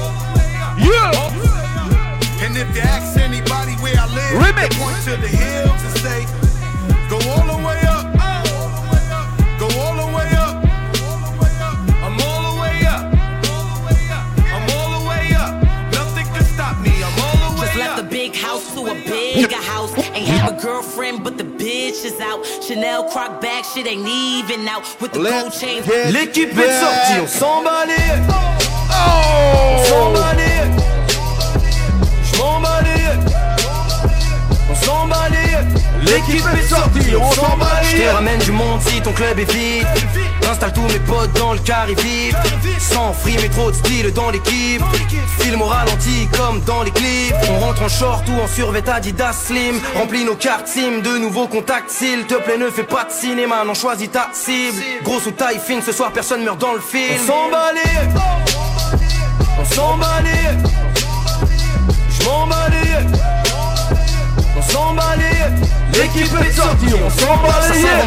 S2: Yeah.
S8: And if you ask anybody where I live, they point to the hills and say, go all the way up. Go all the way up. I'm all the way up. I'm all the way up. Nothing can stop me. I'm all the way
S19: Just
S8: up.
S19: left a big house to a bigger house. Ain't have a girlfriend, but the bitch is out. Chanel croc bag, shit ain't even out. With the gold chains.
S14: L'équipe est sortie, on s'emballait.
S2: Oh!
S14: On s'emballait. J'm'emballais. On s'emballait. L'équipe est sortie, on s'emballait. J'te ramène du monde si ton club est vide. J'installe tous mes potes dans le carré vif. Sans free mais trop de style dans l'équipe. Film au ralenti comme dans les clips. On rentre en short ou en survêt Adidas Slim. Remplis nos cartes SIM, de nouveaux contacts. S'il te plaît ne fais pas de cinéma, non choisis ta cible. Grosse ou taille fine, ce soir personne meurt dans le film. On s'emballait. On s'emballait. J'm'emballais. On s'emballait. L'équipe est sortie, on s'emballait.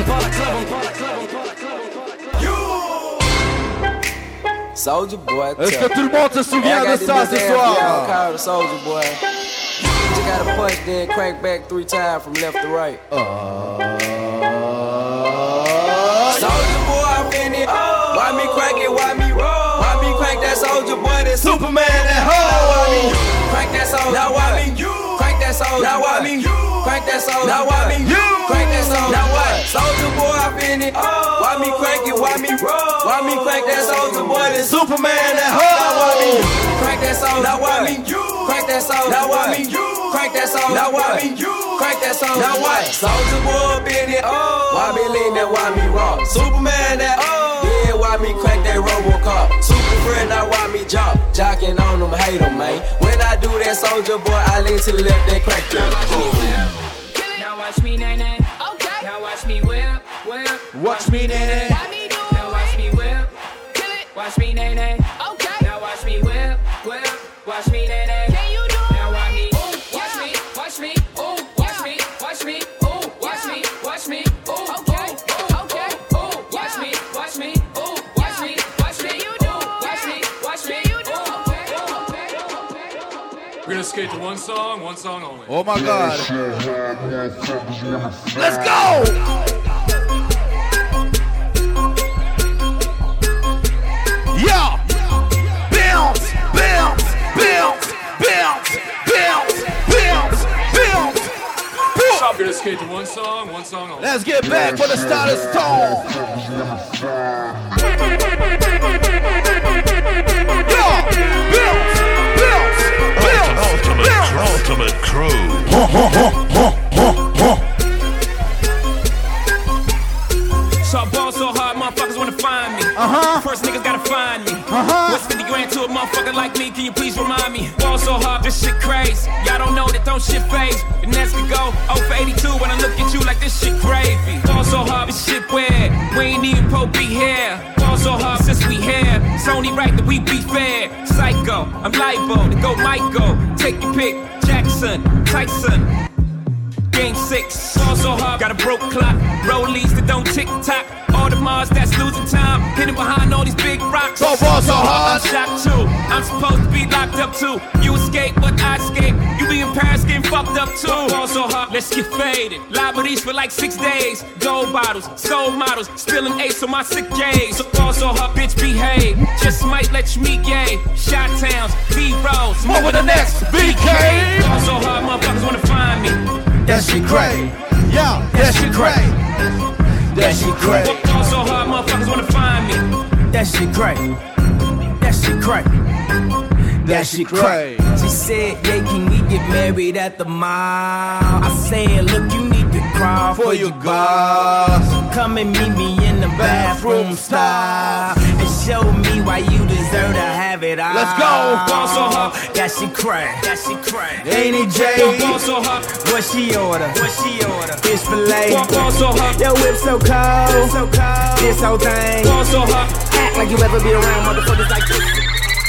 S9: Soldier boy.
S2: Est-ce que tout le monde se souvient de ça ce soir?
S9: Soldier boy. You gotta punch then crank back three times from left to right. Soldier boy, I'm in it. Why me crank it? Why me roll? Why me crank that soldier boy? That Superman at home. Crank that soldier. Now why me you? Crank that soldier. Now why me you? Crank that soldier. Now why me you? Crank that soldier. Now what? Soldier boy, I'm in it. Why me crank it? Why me roll? Why me crank that soldier boy? That Superman at home. Now why me you? Crank that soldier. Now why me you? Crank that soldier. Now why me you? Crank that soldier. Now why me you? Crank that soldier. Now what? Soldier boy, up in it. Why me lean that? Why me rock? Superman that. Yeah, why me crank that Robocop? Super friend, now why me jock? Jocking on them, hate them, man. When I do that soldier boy, I lean to the left, they crank that.
S20: Now watch me, nay, nay. Okay. Now watch me whip, whip.
S2: Watch me, nay, nay.
S20: Now watch me whip. Kill it. Watch me, nay, nay. Okay. Now watch me whip, whip. Watch me, nay, nay. Can you do it? Now watch me. Ooh, watch me, watch me. Ooh, watch me, watch me. Ooh, watch me, watch me. Ooh, okay, okay. Ooh, watch me, watch me. Ooh, watch me, watch me. You do. Watch me, watch me. You do.
S11: We're gonna skate to one song, one song only.
S2: Oh my God. Let's go! Yeah! Bounce, bounce, bounce, bounce, bounce, bounce, bounce.
S11: We're gonna skate to one song, one song only.
S2: Let's get back for the style of stone. Yeah! Bounce, bounce, bounce,
S16: Ultimate, ultimate crew.
S21: So I ball so hard, motherfuckers wanna find me.
S2: Uh-huh.
S21: First niggas gotta find me.
S2: Uh-huh.
S21: What's fifty grand to a motherfucker like me? Can you please remind me? Ball so hard, this shit crazy. Y'all don't know that don't shit phase. The next could go oh for eighty-two when I look at you like this shit gravy. Ball so hard, this shit weird. We ain't even po be here. Ball so hard since we here. It's only right that we be fair. Psycho, I'm libo to go Michael. Take your pick, Jackson, Tyson. Game six, fall so hard, got a broke clock. Rollies that don't tick tock. All the Mars that's losing time, hidden behind all these big rocks.
S2: So fall so hard.
S21: I'm shocked too. I'm supposed to be locked up too. You escape, but I escape. You be in Paris getting fucked up too. Fall so hard, let's get faded. Liberties for like six days. Gold bottles, soul models, spilling ace on my sick days. So fall so hard, bitch, behave. Just might let you meet gay. Shot towns, B-rolls,
S2: more with the next B K.
S21: Fall so hard, motherfuckers wanna find me.
S2: That shit crazy. Yeah, that shit crazy. That shit crazy.
S21: Fall so hard, motherfuckers wanna find me.
S7: That shit crazy. That shit crazy.
S2: That shit crazy.
S7: She said, yeah, can we get married at the mall? I said, look, you need to crawl for, for your boss. Come and meet me in the bathroom style and show me why you deserve to have it all.
S2: Let's go.
S21: Fall so hard.
S7: That shit crazy. That shit crazy. Ain't it, Jay?
S21: Fall so hard.
S7: What she order? What she order? Fish fillet.
S21: Fall so hard.
S7: Your whip so cold. So cold. This whole thing.
S21: Fall so hard.
S7: Act like you ever be around motherfuckers like this.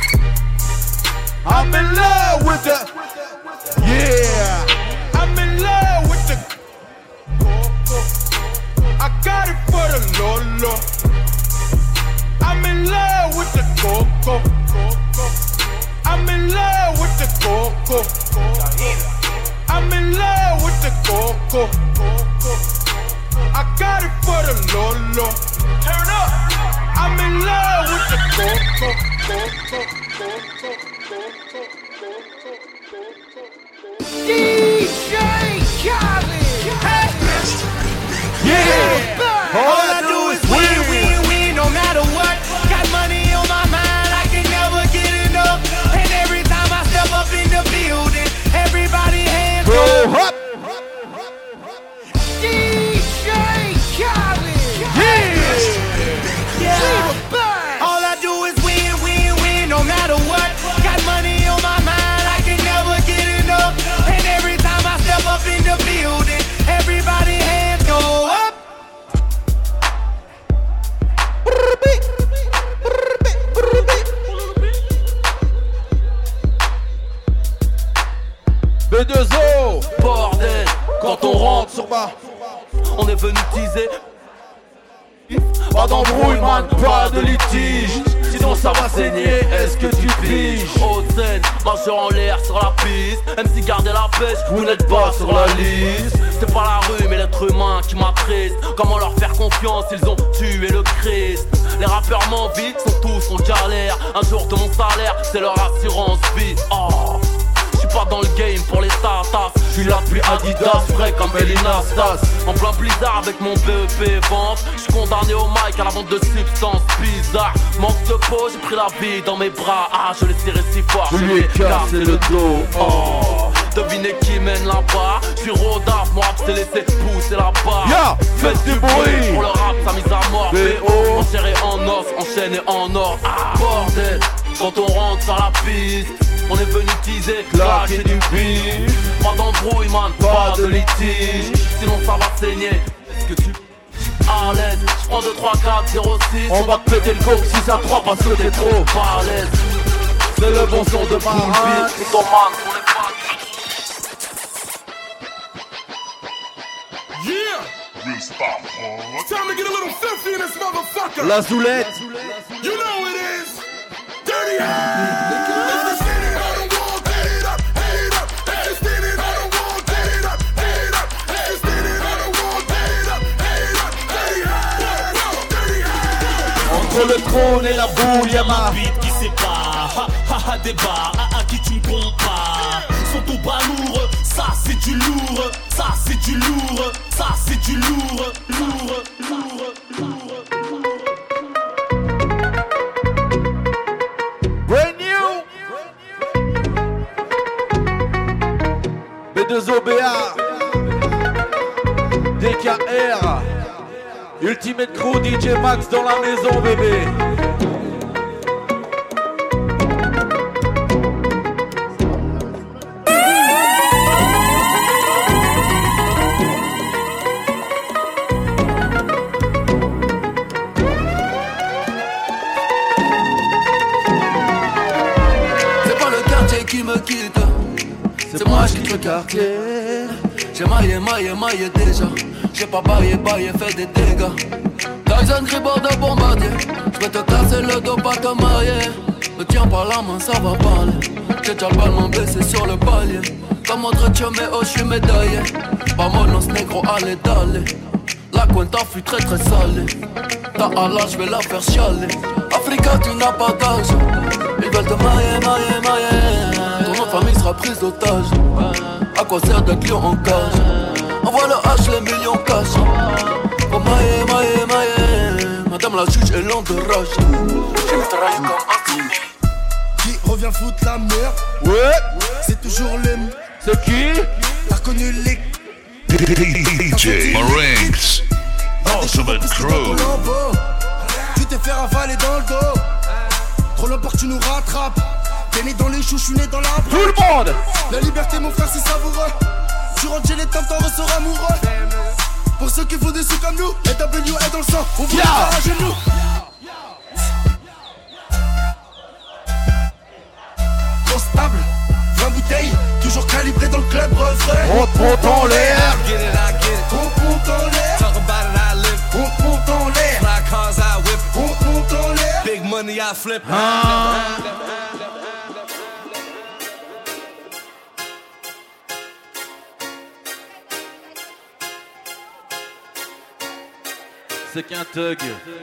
S2: I'm in love with the, yeah.
S8: I'm in love with the coco. I got it for the Lolo. I'm in love with the coco. I'm in love with the coco. I'm in love with the coco. I got it for the Lolo. Turn up. I'm in love with the coco. D J Khaled.
S2: Yeah.
S8: All I do is win, win, win, no matter what. Got money on my mind, I can never get enough. And every time I step up in the building, everybody hands
S2: go up.
S8: D J Khaled.
S2: Yeah.
S8: Yeah. All I do is win, win, win, no matter what. Got money on my mind, I can never get enough. And every time I step up in the building, everybody hands go up.
S2: B deux O.
S5: Bordel,
S2: Quand on rentre sur ma,
S5: on est venu teaser.
S2: pas d'embrouille, man, pas de litige. Sinon ça va saigner, est-ce que tu piges?
S5: Haute scène, marcheur en l'air sur la piste. M C gardez la pêche, vous n'êtes pas sur la liste. C'est pas la rue mais l'être humain qui m'attriste. Comment leur faire confiance, ils ont tué le Christ. Les rappeurs m'envient, sont tous en galère. Un jour de mon salaire, c'est leur assurance vie. Oh, j'suis pas dans le game pour les tatas.
S2: J'suis là depuis Adidas, frais comme Elina Stas.
S5: En plein blizzard avec mon B E P vente. J'suis condamné au mic à la vente de substances bizarres. Manque de peau, j'ai pris la vie dans mes bras. Ah, je l'ai serré si fort,
S2: je lui ai cassé le dos.
S5: Oh, devinez qui mène là-bas. J'suis Rodaf, mon rap s'est laissé pousser la barre.
S2: Yeah, faites du bruit.
S5: Pour le rap, sa mise à mort. B O, enchéré en os, enchaîné en or. Ah, bordel, quand on rentre sur la piste, on est venu teaser, claquer du beat. Pas d'embrouille, man, pas de litige. Sinon ça va saigner. Est-ce que tu... à l'aise, j'prends deux, trois, quatre, zéro, six.
S2: On va te péter le coke six à trois parce que t'es trop
S5: à l'aise.
S2: C'est le bon son de Marat.
S5: C'est ton man, on est pas.
S8: Yeah! It's time to get a little filthy in this motherfucker!
S2: La Zoulette!
S8: You know it is! Dirty hands! If you're standing on the wall, get it up, head up! If you're standing on the wall, get it up, head up! If you're standing on the wall, get it up, head up! Dirty hands! Dirty hands!
S2: Entre le trône et la boule, y'a ma
S22: beat qui sépare, ha ha ha débat, à à qui tu me compares. Sont au bas lourd, ça c'est du lourd, ça c'est du lourd, ça c'est du lourd, lourd, lourd, lourd.
S2: Brand new B deux O B A D K R Ultimate Crew, D J Max dans la maison, bébé.
S5: C'est pas le quartier qui me quitte, c'est moi qui quitte le quartier. J'ai maillé, maillé, maillé déjà. J'ai pas baillé, baillé, fait des dégâts. Tyson Gribord de bombardier. J'vais te casser le dos, pas te marier. Me tiens par la main, ça va parler. J'ai déjà le ballon baissé sur le palier. Comme autre mais oh, j'suis médaillé. Vamonos négro, allez, d'aller. La cuenta fut très très salée. Ta Allah, j'vais la faire chialer. Africa, tu n'as pas d'âge. Ils veulent te mailler, mailler, mailler. Ton nom de famille sera prise d'otage. À quoi sert d'être lion en cage? Envoie le H, les millions cash. Oh mailler, mailler, mailler. Madame la juge est lente de rage. Je me travaille comme un
S12: qui revient foutre la merde.
S2: Ouais.
S12: C'est toujours les mêmes.
S2: C'est qui?
S12: T'as connu les
S16: D J Marinx, Ultimate Crew.
S12: Tu t'es fait ravaler dans le dos. Trop loin pour que tu nous rattrapes. T'es né dans les choux, j'suis né dans la braque.
S2: Tout le monde.
S12: La liberté mon frère c'est savoureux. Tu rentres chez les temps, t'en ressors amoureux. Pour ceux qui font des sous comme nous, et W est dans le sang, on vous yeah. à genoux. Constable, vingt bouteilles, toujours calibré dans le club refrain.
S2: On monte en l'air.
S12: On monte en l'air.
S22: Talk about it, I live.
S12: On monte en l'air.
S22: Fly cars, I whip.
S12: On monte en l'air.
S22: Big money, I flip.
S2: Ah. C'est qu'un thug.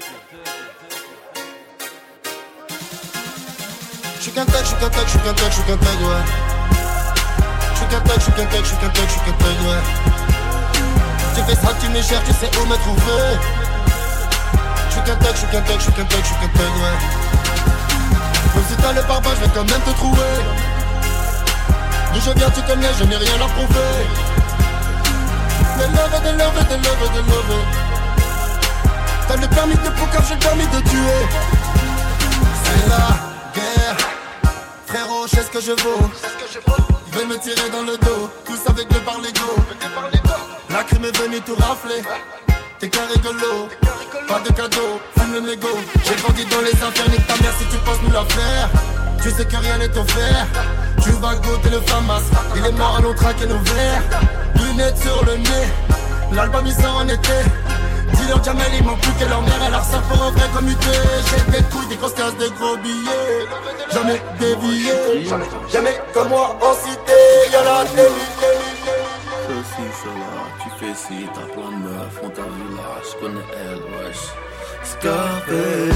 S12: J'suis qu'un thug, j'suis qu'un thug, j'suis qu'un thug, j'suis qu'un thug, ouais. J'suis qu'un thug, j'suis qu'un thug, j'suis qu'un thug, j'suis qu'un thug, ouais. Tu fais ça, tu me cherches, tu sais où me trouver. J'suis qu'un thug, j'suis qu'un thug, j'suis qu'un thug, j'suis qu'un thug, ouais. Même si t'as le pare-balles, j'vais quand même te trouver. D'où je viens, tu connais, je n'ai rien à prouver. Des love, des love, des love, des love. T'as le permis de poker, j'ai le permis de tuer. C'est la guerre. Frérot, je sais ce que je vaux. Ils veulent me tirer dans le dos. Tous avec le bar-lego. La crime est venue tout rafler. T'es qu'un rigolo. Pas de cadeau, fume le mégot. J'ai grandi dans les affaires, nique ta mère si tu penses nous la faire. Tu sais que rien n'est offert. Tu vas goûter le famas. Il est mort à l'on traquer nos verres. Lunettes sur le nez. L'album il sort en été. Dis-leur Jamel, il manque plus que leur mère. Elle a ça pour un vrai commuté. J'ai des couilles, des grosses casses, des gros billets. Jamais dévié. Jamais, jamais comme moi en cité. Y'en a des milliers.
S5: Ceci, cela, tu fais ci, t'as plein de meufs, on t'a vu là, je connais elle, wesh. Scarface,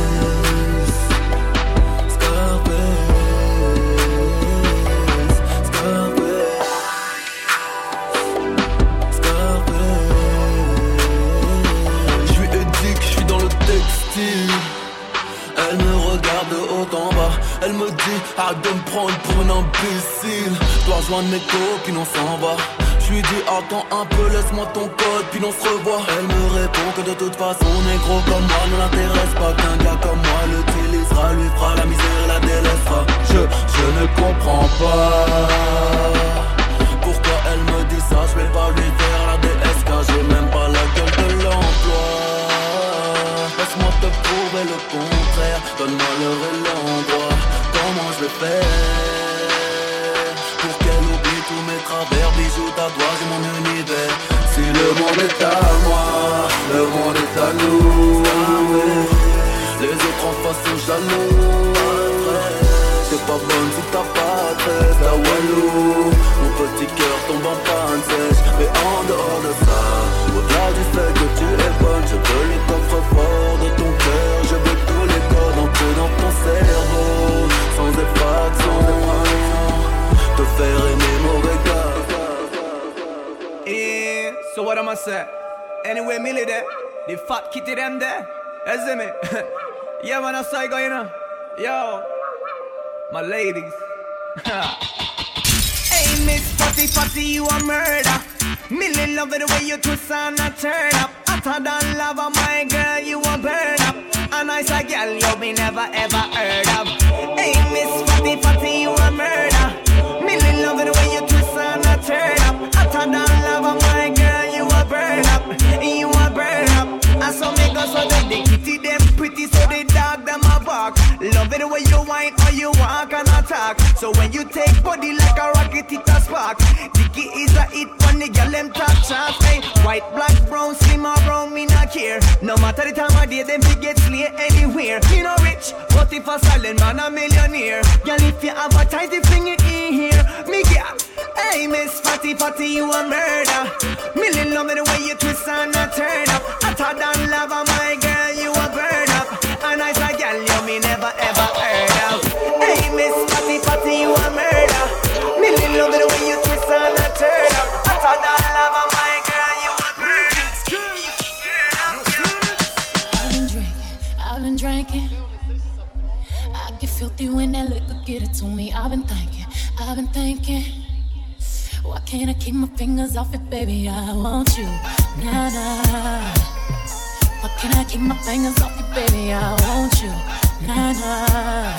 S5: Scarface, Scarface, Scarface. J'suis éthique, j'suis dans le textile. Elle me regarde de haut en bas. Elle me dit arrête de me prendre pour un imbécile. Dois rejoindre mes copines, on s'en va. J'lui dis attends un peu, laisse-moi ton code, puis on se revoit. Elle me répond que de toute façon négro comme moi ne l'intéresse pas. Qu'un gars comme moi l'utilisera, lui fera la misère et la délaissera. Je, je ne comprends pas pourquoi elle me dit ça. Je vais pas lui faire la D S car j'ai même pas la gueule de l'emploi. Laisse-moi te prouver le contraire, donne-moi l'heure et l'endroit. Comment je vais faire pour qu'elle oublie tous mes travers, bijoux, tatouages et mon univers. Si le monde est à moi, le monde est à nous. Les autres en face sont jaloux. T'es pas bonne si t'as pas treize, ta Walou. Mon petit cœur tombe en panne sèche. Mais en dehors de ça, au-delà du fait que tu es bonne, je veux le coffre-fort de ton cœur. Je veux tous les codes entrés dans ton cerveau, sans effraction, te faire aimer mon regard.
S7: Yeah, so what am I say? Anyway, Millie there, the fat kitty them there. You see me? Yeah, man, I say go, you know. Yo, my ladies. Hey, Miss Fatty Fatty, you a murder. Millie love it the way you twist and a turn up. Hotter than lava, my girl, you a burn up. A nice a girl you be never ever heard of. Hey, Miss Fatty Fatty, you a murder. Millie love it the way you twist and a turn up. Hotter than lava, my girl, you a burn up. You a burn up. And so make us so that the kitty them pretty, so the dog them a bark. Love it the way you
S3: wine or you walk and attack. So when you take body like a rocket, it a spark. Dicky is a hit when the girl them top chart. Hey, white, black, brown, slim or brown, me not care. No matter the time of day, them fi get slay anywhere. Me no rich, but if a silent man a millionaire. Girl, if you advertise the thing it in here, me get. Hey, Miss Fatty Fatty, you a murder. Million love me the way you twist and a turn up. Hotter than lava, my girl, you a burn up. A nice a girl, you me never ever heard of. Hey, Miss Fatty Fatty, you a murder. Million love me the way you twist and a turn up. Hotter than lava, my girl, you a burn up.
S6: I've been drinking, I've been drinking. I get filthy when that liquor get it to me. I've been thinking, I've been thinking. Why can't I keep my fingers off it, baby? I want you, nah, nah. Why can't I keep my fingers off it, baby? I want you, nah, nah.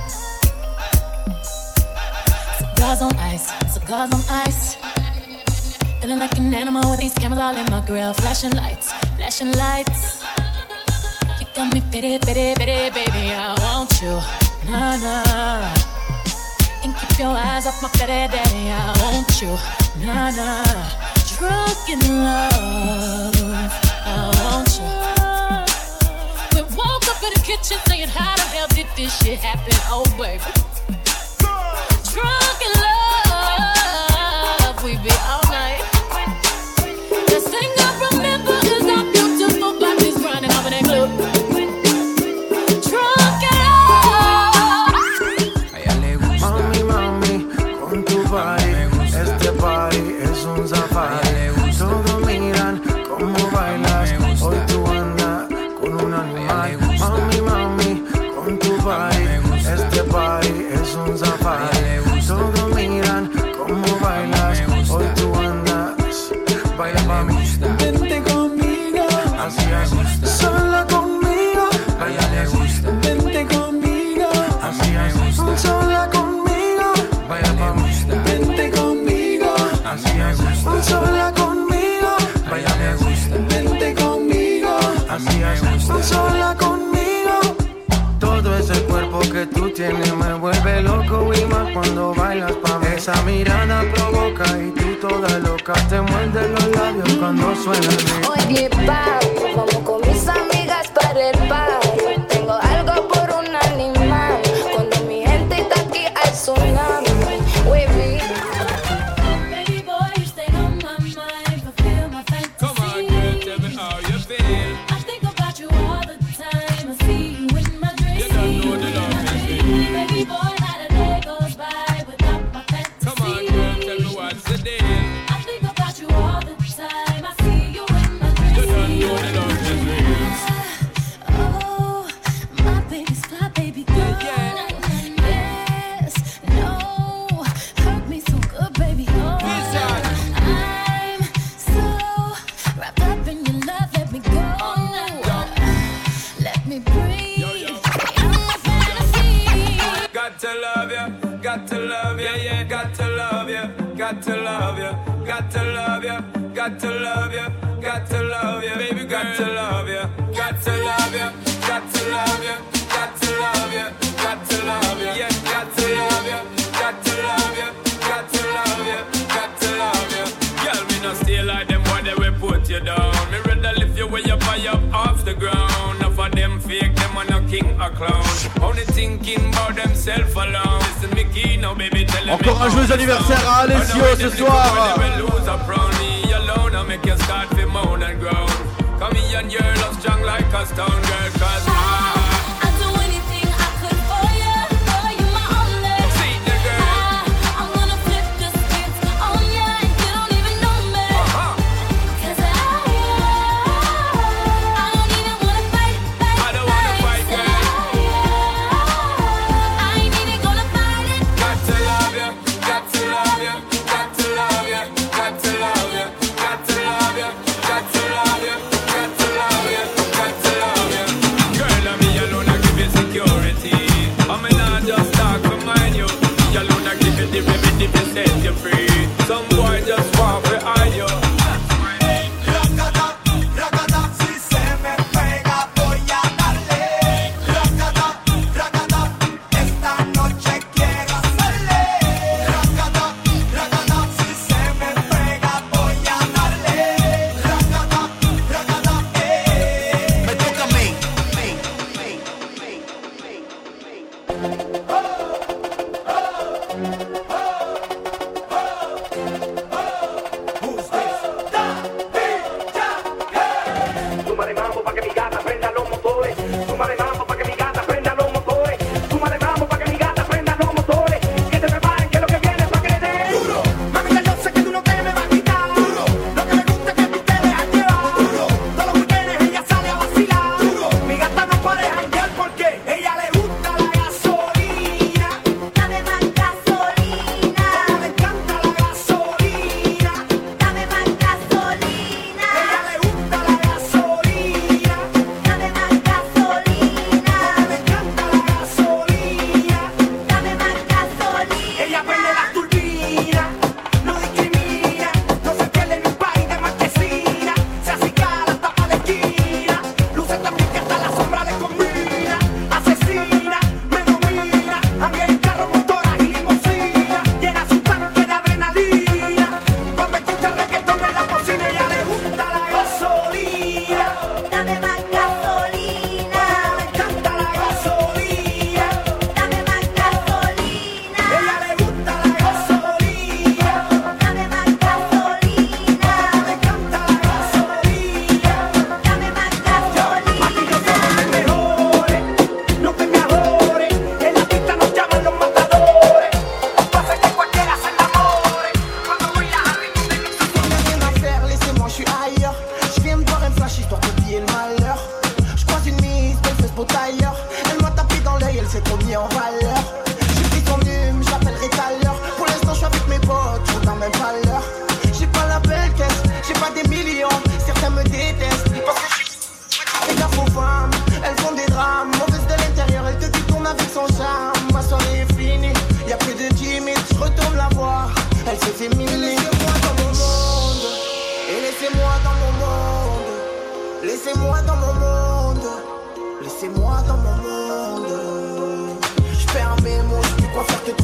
S6: Cigars on ice, cigars on ice. Feeling like an animal with these cameras all in my grill. Flashing lights, flashing lights. You got me pity, pity, pity, baby. I want you, nah, nah. And keep your eyes off my fetty daddy. I want you, nah, nah. Drunk in love, I want you. We woke up in the kitchen saying, how the hell did this shit happen? Oh, baby. Drunk in love, we be all night. The thing I remember is our beautiful bodies running over that club.
S23: Este party es un safari. Todos miran cómo bailas. Hoy tú andas con un animal. Mami, mami, con tu party. Este party es un safari. Todos miran cómo bailas. Hoy tú andas. Baila pa' mí. Vente conmigo. Así es. Sola conmigo. Baila le gusta. Vente conmigo. Así es. Sola conmigo. Baila pa' mí. Vente conmigo, así es. Sola conmigo, vaya me gusta. Vente conmigo, así es. Sola conmigo. Todo ese cuerpo que tú tienes me vuelve loco y más cuando bailas pa' mí. Esa mirada provoca y tú toda loca te muerde los labios cuando suena el beat.
S24: Oye, papi, vamos con mis amigas para el party. Tengo algo por un animal. Cuando mi gente está aquí hay tsunami. Baby.
S6: Baby boy, you stay on my mind, fulfill my fantasy.
S11: Come on, girl, tell me how you feel.
S6: I think about you all the time. I see you in my dreams.
S11: You don't know the love is real.
S6: Baby boy, not a day goes by without my fantasy.
S11: Come on, girl, tell me what's the deal.
S6: I think about you all the time. I see you in my dreams.
S11: You don't know the love is real.
S6: Oh, my baby's fly, baby girl. Yes, no, hurt me so good, baby. Oh, I'm so wrapped up in your love. Let me go. Let me breathe. I'm a fantasy.
S11: Got to love you, got to love you, yeah, got to love you, got to love you, got to love you, got to love you, got to love you, baby, got to love you, got to love you, got to love you, got to love you, got to love you, yeah, got to love you, got to love you, got to love you, got to love you. Girl, me not stay like them boy, they will put you down. Me rather lift you way up high up off the ground. Enough of them fake, them on a king or clown. Only thinking about themselves alone. Listen, Mickey, now baby, tell them.
S2: Encore un joyeux anniversaire à Alessio ce soir.
S11: Make you start to moan and groan. Come here and you're love strong like a stone girl. Cause I,
S6: I'd do anything I could for you. For you, my only.
S11: See the girl.
S6: I, I'm gonna flip the script on you and you don't even know me.
S11: Uh-huh.
S6: Cause I, I don't even wanna fight, fight,
S11: I don't wanna fight,
S6: fight.
S11: girl.
S6: I ain't even gonna fight it.
S11: Got to love you, got to love you, got to love you, got to love you, got to love you, got to love you, got to love you, got to love you. Girl, I'm here.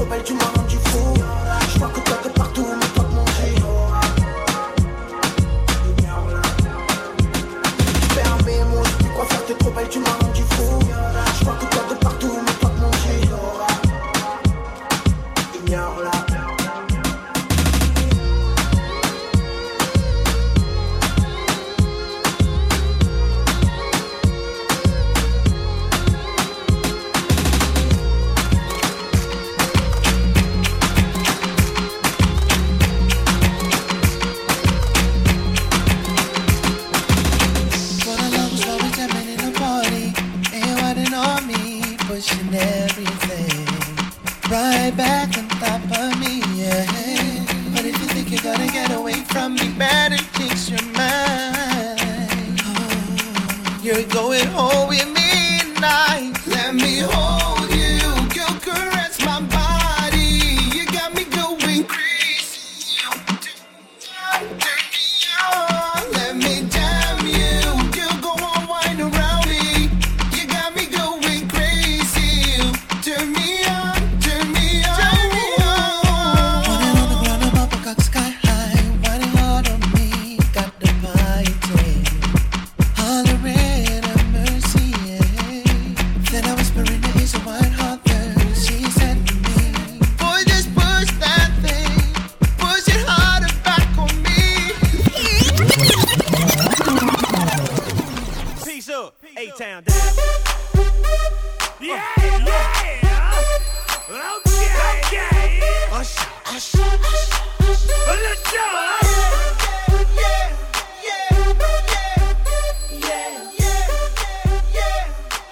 S23: belle, tu m'as rendu fou. Je vois que toi de partout, mais toi de manger. Fermé, moi, je sais quoi faire, t'es trop belle, tu m'as rendu fou. Je vois que toi de partout, mais toi de manger. Ignore-la.
S4: Pushing everything right back on top of me, yeah. But if you think you're gonna get away from me, better change your mind. Oh, you're going home with me tonight. Let me hold you, girl, caress my body. You got me going crazy. Turn me on, let me damn you, girl, go on, wind around me. You got me going crazy. Turn me on, turn me on, turn me on. Running on the ground, I'm up, I got sky high. Riding hard on me, got the fighting. Hollering at mercy, yeah. Then I whisper in the ears of white heart there. She said to me, boy, just push that thing. Push it harder back on me.
S10: Peace up, A-Town down. Yeah, yeah. Okay, okay. Hush, hush, hush, hush. Let's go. Yeah, yeah, yeah, yeah, yeah,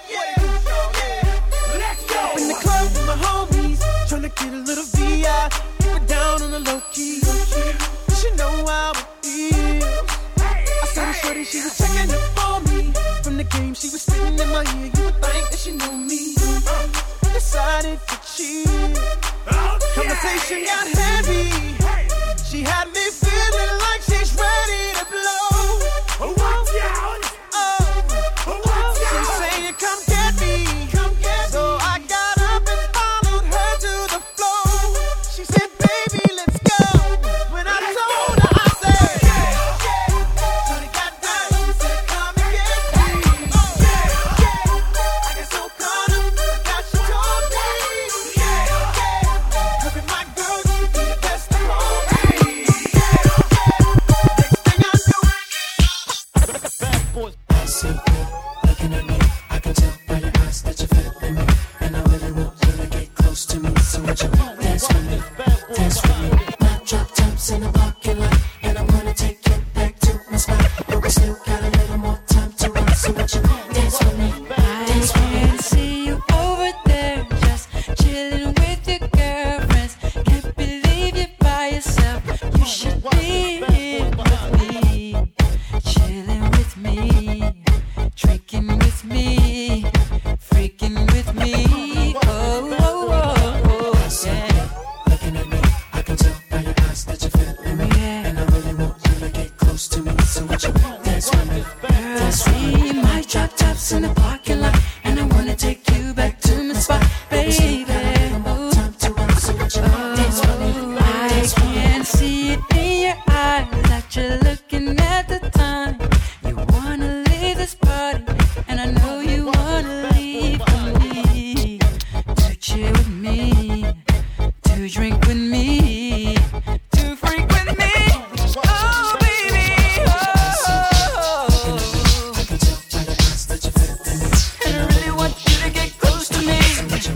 S10: yeah. Let's go.
S23: Up in the club with my homies, tryna get a little V I. Keep it down on the low key. You should know how it feels. I saw the shorty, she was checking up for me. From the game, she was spitting in my ear. You would think that she know me. Decided to cheat. Conversation got heavy. She had me feeling like she's ready to blow.
S10: Watch out!
S23: Oh, she's saying, come get me. Come get me. So I got up and followed her to the floor. She said, baby, let's go. When I told her, I said, yeah, yeah. Shorty got down, she said, come and get me. Oh, yeah, yeah. I got so caught up, forgot she told me. Yeah, yeah. Look at my girl, you be the best of all me. Yeah, yeah. Next thing I know,
S4: Bad boys. I see you looking at me. I can tell by your eyes that you're feeling me. And I really want you to get close to me. So would you dance with me? Dance with me. My drop tops in the parking lot. And I'm gonna take you back to my spot. But we still got a little more time to run. So would you dance with me? Dance with me.
S13: I can see you over there, just chilling with your girlfriends. Can't believe you're by yourself. You should be here with me, chilling with me, drinking with me, freaking with me. Oh, oh, oh, oh, yeah.
S4: Looking at me, I can tell by your eyes that you're feeling me. And I really want you to get close to me. So would you dance with me? Dance with me.
S13: See my drop tops in the parking lot, and I wanna take you back to my spot, baby. Ooh. Oh, I can see it in your eyes that you're looking at the time. You wanna leave this party, and I know you wanna leave with me, to chill with me, to drink with me, to freak with me. Oh, baby. Oh. And I really want you to get close to me.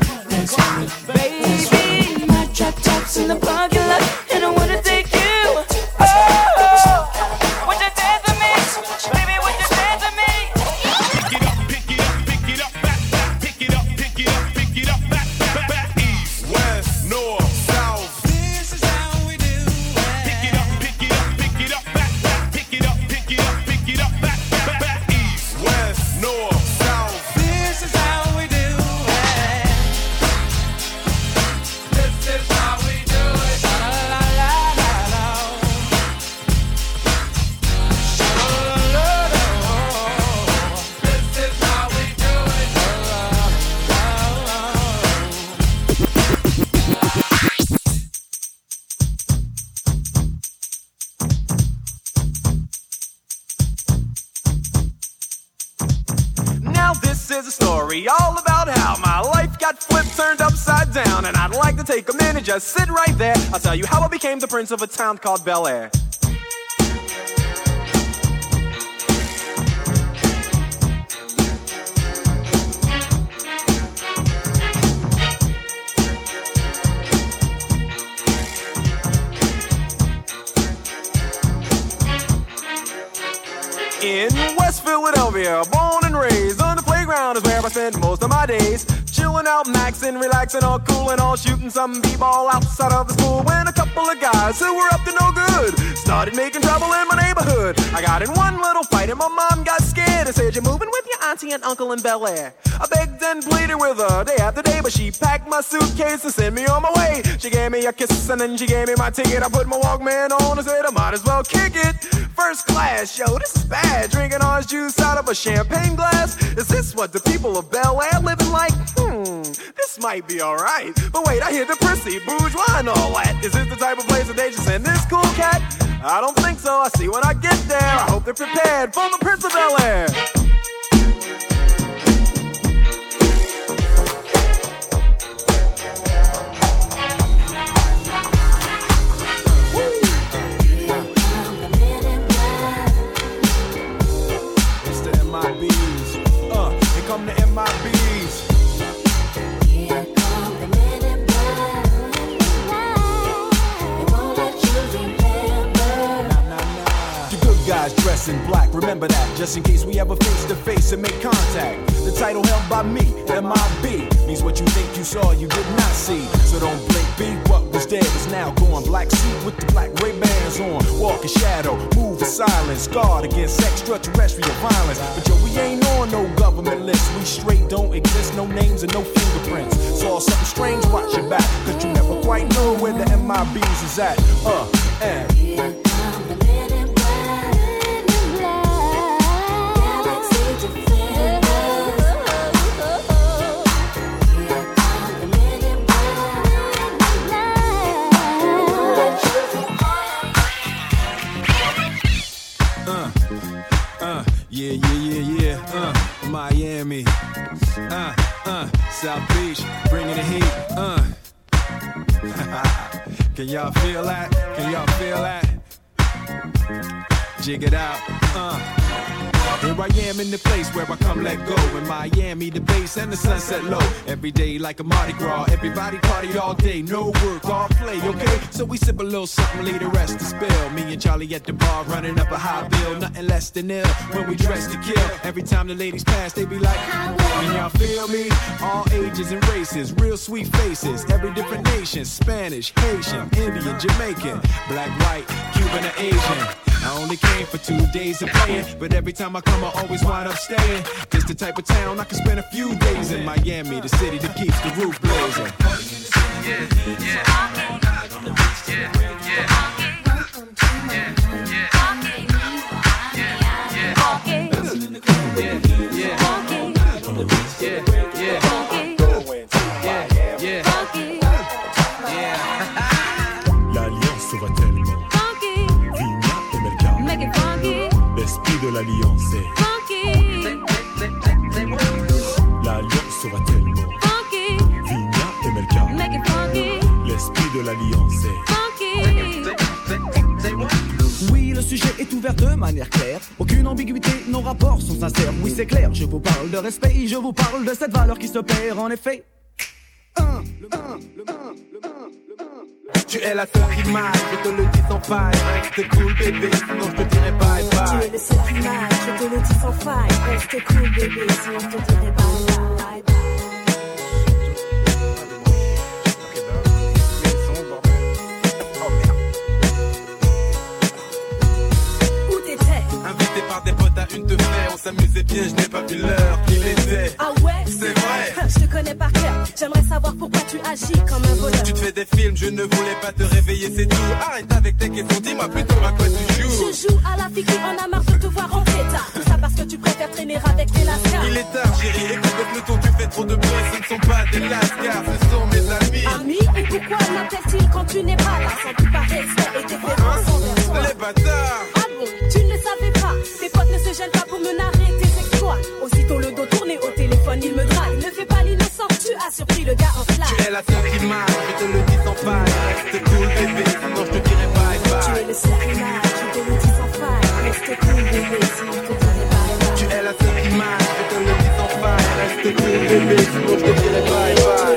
S13: Baby, my drop tops in the parking lot, and I wanna take you. Oh, would you dance with me? Baby, would you dance with me?
S11: Pick it up, pick it up, pick it up, back, back, pick it up, pick it up, pick it up, back, back, back, east, west, north, south.
S1: story all about how my life got flipped, turned upside down. And I'd like to take a minute, just sit right there. I'll tell you how I became the prince of a town called Bel Air. In West Philadelphia, born and raised on the playground is where I spend most of my days. Chilling out, maxing, relaxing, all cool and all shooting some b-ball outside of the school. When a couple of guys who were up to no good started making trouble in my neighborhood. I got in one little fight and my mom got scared and said, "You're moving with your auntie and uncle in Bel Air." I begged and pleaded with her day after day, but she packed my suitcase and sent me on my way. She gave me a kiss and then she gave me my ticket. I put my Walkman on and said I might as well kick it. First class, yo, this is bad. Drinking orange juice out of a champagne glass. Is this what the people of Bel Air living like? Hmm, this might be alright. But wait, I hear the prissy, bourgeois and all that. Is this the type of place that they should send this cool cat? I don't think so. I see when I get there. I hope they're prepared for the Prince of Bel Air. Come to M I B's. Here come the men in black. They won't let you remember. Nah, nah, nah. The good guys dress in black, remember that. Just in case we ever face to face and make contact. The title held by me, M I B, means what you think you saw, you did not see. So don't blink, B, what was dead is now gone. Black suit with the black Ray-Bans on. Walk in shadow, move in silence. Guard against extraterrestrial violence. But yo, we ain't on no government list. We straight don't exist, no names and no fingerprints. Saw something strange, watch your back. Cause you never quite know where the M I B's is at. Uh, and here come the men in black. Galaxy defenders. Yeah, yeah, yeah, yeah, uh, Miami, uh, uh, South Beach, bringing the heat, uh. Can y'all feel that? Can y'all feel that? Jig it out, uh. Here I am in the place where I come let go. In Miami, the base and the sunset low. Every day like a Mardi Gras. Everybody party all day. No work, all play, okay? So we sip a little something, leave the rest to spill. Me and Charlie at the bar running up a high bill. Nothing less than ill when we dress to kill. Every time the ladies pass, they be like, can y'all feel me? All ages and races, real sweet faces. Every different nation, Spanish, Haitian, Indian, Jamaican, black, white, Cuban, or Asian. I only came for two days of playing, but every time I come, I always wind up staying. This the type of town I can spend a few days in. Miami, the city that keeps the roof blazing. Yeah, yeah, yeah, yeah.
S15: L'alliance va tellement. Vigna et Melka. L'esprit de l'alliance est. L'alliance va tellement. Vigna et Melka. L'esprit de l'alliance est.
S17: Oui, le sujet est ouvert de manière claire. Aucune ambiguïté, nos rapports sont sincères. Oui, c'est clair, je vous parle de respect. Je vous parle de cette valeur qui se perd en effet. Un, le un, le un, le un, le un.
S1: Tu es la seule image, je te le dis sans faille. Reste cool bébé, sinon je te dirai bye bye.
S18: Tu es le seul image, je te le dis sans faille. Reste cool bébé, sinon je te dirai bye bye.
S1: Invité par des potes à une de fer, on s'amusait bien, je n'ai pas vu l'heure qu'il était.
S18: Ah ouais?
S1: C'est vrai.
S18: Je te connais par cœur, j'aimerais savoir pourquoi tu agis comme un voleur.
S1: Tu te fais des films, je ne voulais pas te réveiller, c'est tout. Arrête avec tes questions, dis-moi plutôt à quoi tu joues.
S18: Je joue à la fille qui en a marre de te voir en pétard. Tout ça parce que tu préfères traîner avec des lascars.
S1: Il est tard chérie, écoute le peloton, tu fais trop de bruit. Ce ne sont pas des lascars, ce sont mes amis.
S18: Amis? Et pourquoi m'appellent-ils quand tu n'es pas là? Sans tout par respect et déférence envers toi.
S1: Les bâtards.
S18: Ah bon, tu ne le savais pas. Tes potes ne se gênent pas pour me narrer tes exploits. Aussitôt le dos tourné au téléphone, ils
S9: bébé, sinon je te dirai bye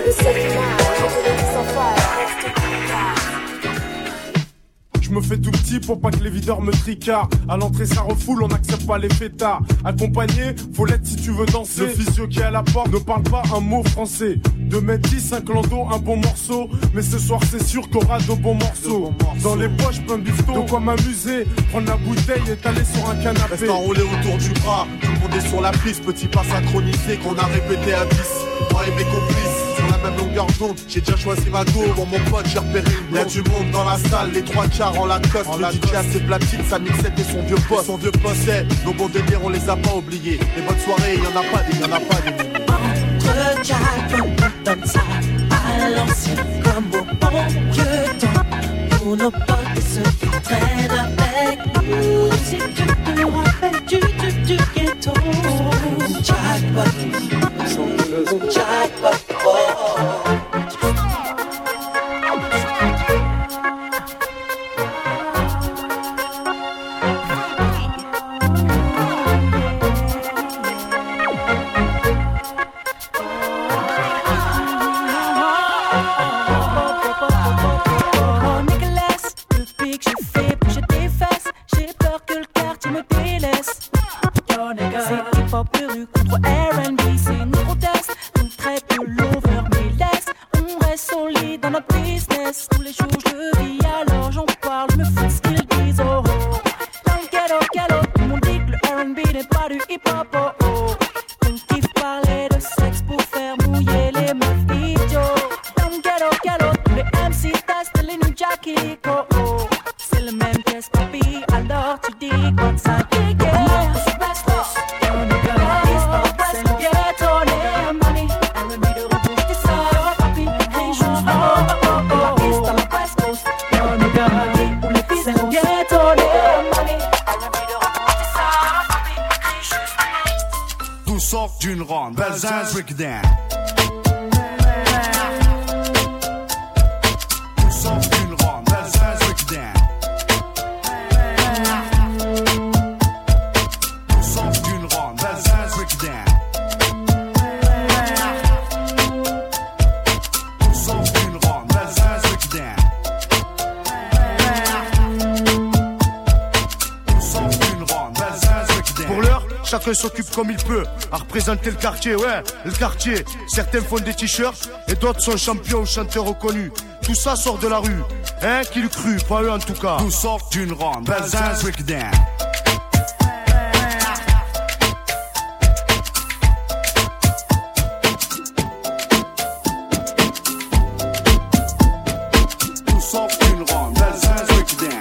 S14: Je me fais tout petit pour pas que les videurs me tricardent. À l'entrée ça refoule, on n'accepte pas les fêtards. Accompagné, faut l'être si tu veux danser. Le physio qui est à la porte ne parle pas un mot français. deux mètres dix, un clando, un bon morceau. Mais ce soir c'est sûr qu'il y aura de bons morceaux. Dans les poches plein de bifton, de quoi m'amuser. Prendre la bouteille et t'aller sur un canapé.
S19: Reste enroulé autour du bras, tout le monde est sur la piste. Petit pas synchronisé qu'on a répété à dix. Moi et mes complices, sur la même longueur d'onde. J'ai déjà choisi ma go, pour mon pote j'ai repéré une. Y'a du monde dans la salle, les trois quarts en Lacoste. Le D J a ses platines, sa mixette et son vieux poste. Son vieux poste, nos bons délires on les a pas oubliés. Les bonnes soirées, y'en a pas des, y'en a pas des.
S4: Entre Jack, on donne ça à l'ancien comme au bon vieux temps. Pour nos potes et ceux qui traînent avec nous. Si tu te rappelles du, du, du ghetto. Jackpot, jackpot, oh.
S20: D'une ronde, Belzins, Rickdown. Nous sommes d'une ronde, Belzins, Rickdown. Nous sommes d'une ronde, Belzins, Rickdown. Nous sommes d'une ronde, Belzins, Rickdown. Nous sommes d'une ronde, Belzins, Rickdown.
S19: Pour l'heure, chacun s'occupe comme il peut à représenter le quartier, ouais, le quartier. Certains font des t-shirts et d'autres sont champions ou chanteurs reconnus. Tout ça sort de la rue, hein, qui le cru, pas eux en tout cas.
S20: Nous sortent d'une ronde, Belzins, Rickdown. Nous sortent d'une ronde, Belzins, Rickdown.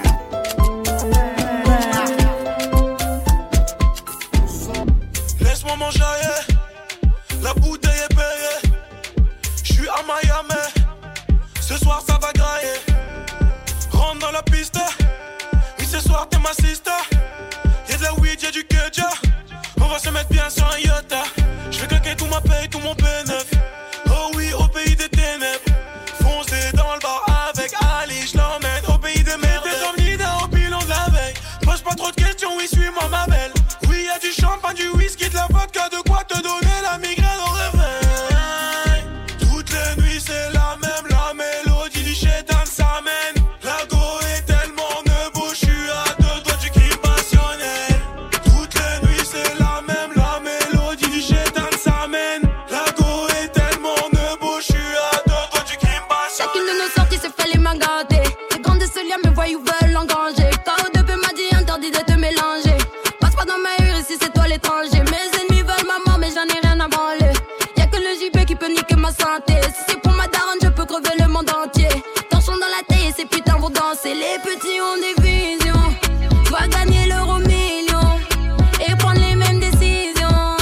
S25: Laisse-moi manger, la bouteille est payée. J'suis à Miami, ce soir ça va grailler. Rentre dans la piste, oui ce soir t'es ma sister. Y'a de la weed, y'a du kedja. On va se mettre bien sur un yacht. J'vais claquer tout ma paye, tout mon bénéf. Oh oui, au pays des ténèbres. Foncez dans le bar avec Ali, j'l'emmène au pays des merdes. T'es dormi au bilan de la veille. Pose pas trop de questions, oui suis-moi ma belle. Oui y'a du champagne, du whisky, de la vodka, de quoi te donner la migraine au réveil. Toutes les nuits c'est la même, la mélodie du chétan s'amène. La go est tellement nebo, j'suis à deux doigts du crime passionnel. Toutes les nuits c'est la même, la mélodie du chétan s'amène. La go est tellement nebo, j'suis à deux doigts du crime passionnel.
S24: Chacune de nos sorties se fait les mains gâtées. Les grands de ce lien me voient ou veulent engranger. K O deux P m'a dit interdit de te mélanger. Passe pas dans ma rue si c'est toi l'étranger. Mes ennemis veulent ma mort mais j'en ai rien à branler. Y'a que le J P qui peut niquer ma santé. Si c'est pour ma daronne je peux crever le monde entier. Torchons dans la taille et ces putains vont danser. Les petits ont des visions, doivent gagner l'euro million et prendre les mêmes décisions.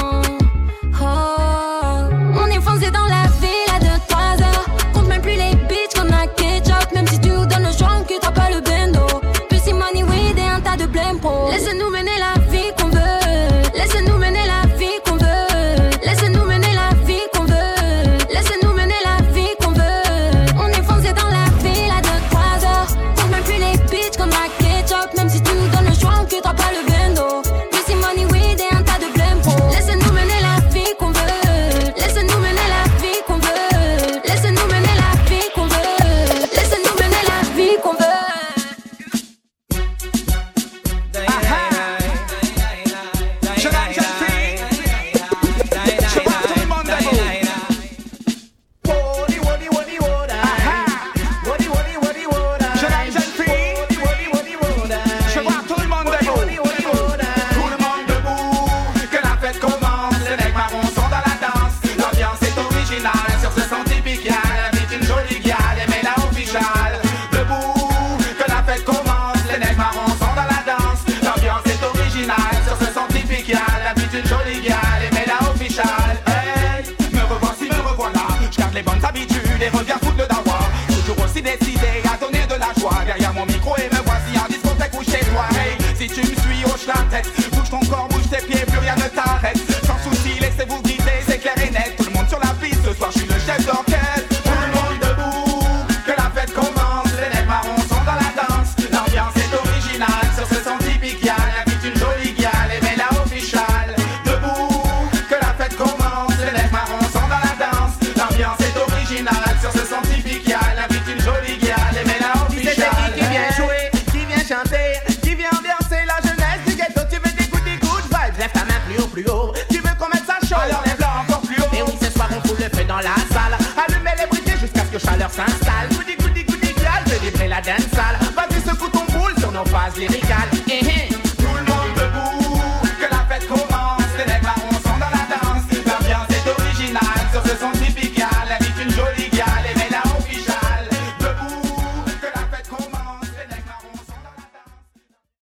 S24: Oh, on est foncé dans la ville à deux trois heures. Compte même plus les bitches qu'on a ketchup. Même si tu nous donnes le choix on quittera pas le bendo. Pussy money weed et un tas de blême pro. Laisse-nous mener la vie qu'on veut. Laisse-nous mener la vie qu'on veut. Laisse-nous mener la vie qu'on veut. Laisse-nous mener la vie qu'on veut. On est foncé dans la ville à deux trois heures. Compte même plus les bitches
S8: suis décidé à donner de la joie. Derrière mon micro et me voici en discothèque ou chez toi. Hey, si tu me suis, hoche la tête. Bouge ton corps, bouge tes pieds, plus rien ne t'arrête. Sans souci, laissez-vous guider, c'est clair et net. Tout le monde sur la piste, ce soir je suis le chef d'orchestre. Tout le monde debout, que la fête commence. Les lèvres marrons sont dans la danse. L'ambiance est originale, sur ce son typique. Y'a l'invite une jolie gueule, et la officiale. Debout, que la fête commence. Les lèvres marrons sont dans la danse. L'ambiance est originale, sur ce son typique. Y'a l'invite une jolie gueule, et la officiale.
S9: Qui vient jouer, qui vient chanter, qui vient ambiancer la jeunesse du ghetto. Tu veux des good, des good vibes, lève ta main plus haut, plus haut. Tu veux qu'on mette ça chaud,
S8: alors lève-la encore plus haut.
S9: Et oui, ce soir on fout le feu dans la salle. Allumez les briquets jusqu'à ce que chaleur s'installe. Goody, goody, goody, girl, je livrer la dance salle. Vas-y, secoue ton boule sur nos phases lyricales. Eh, eh.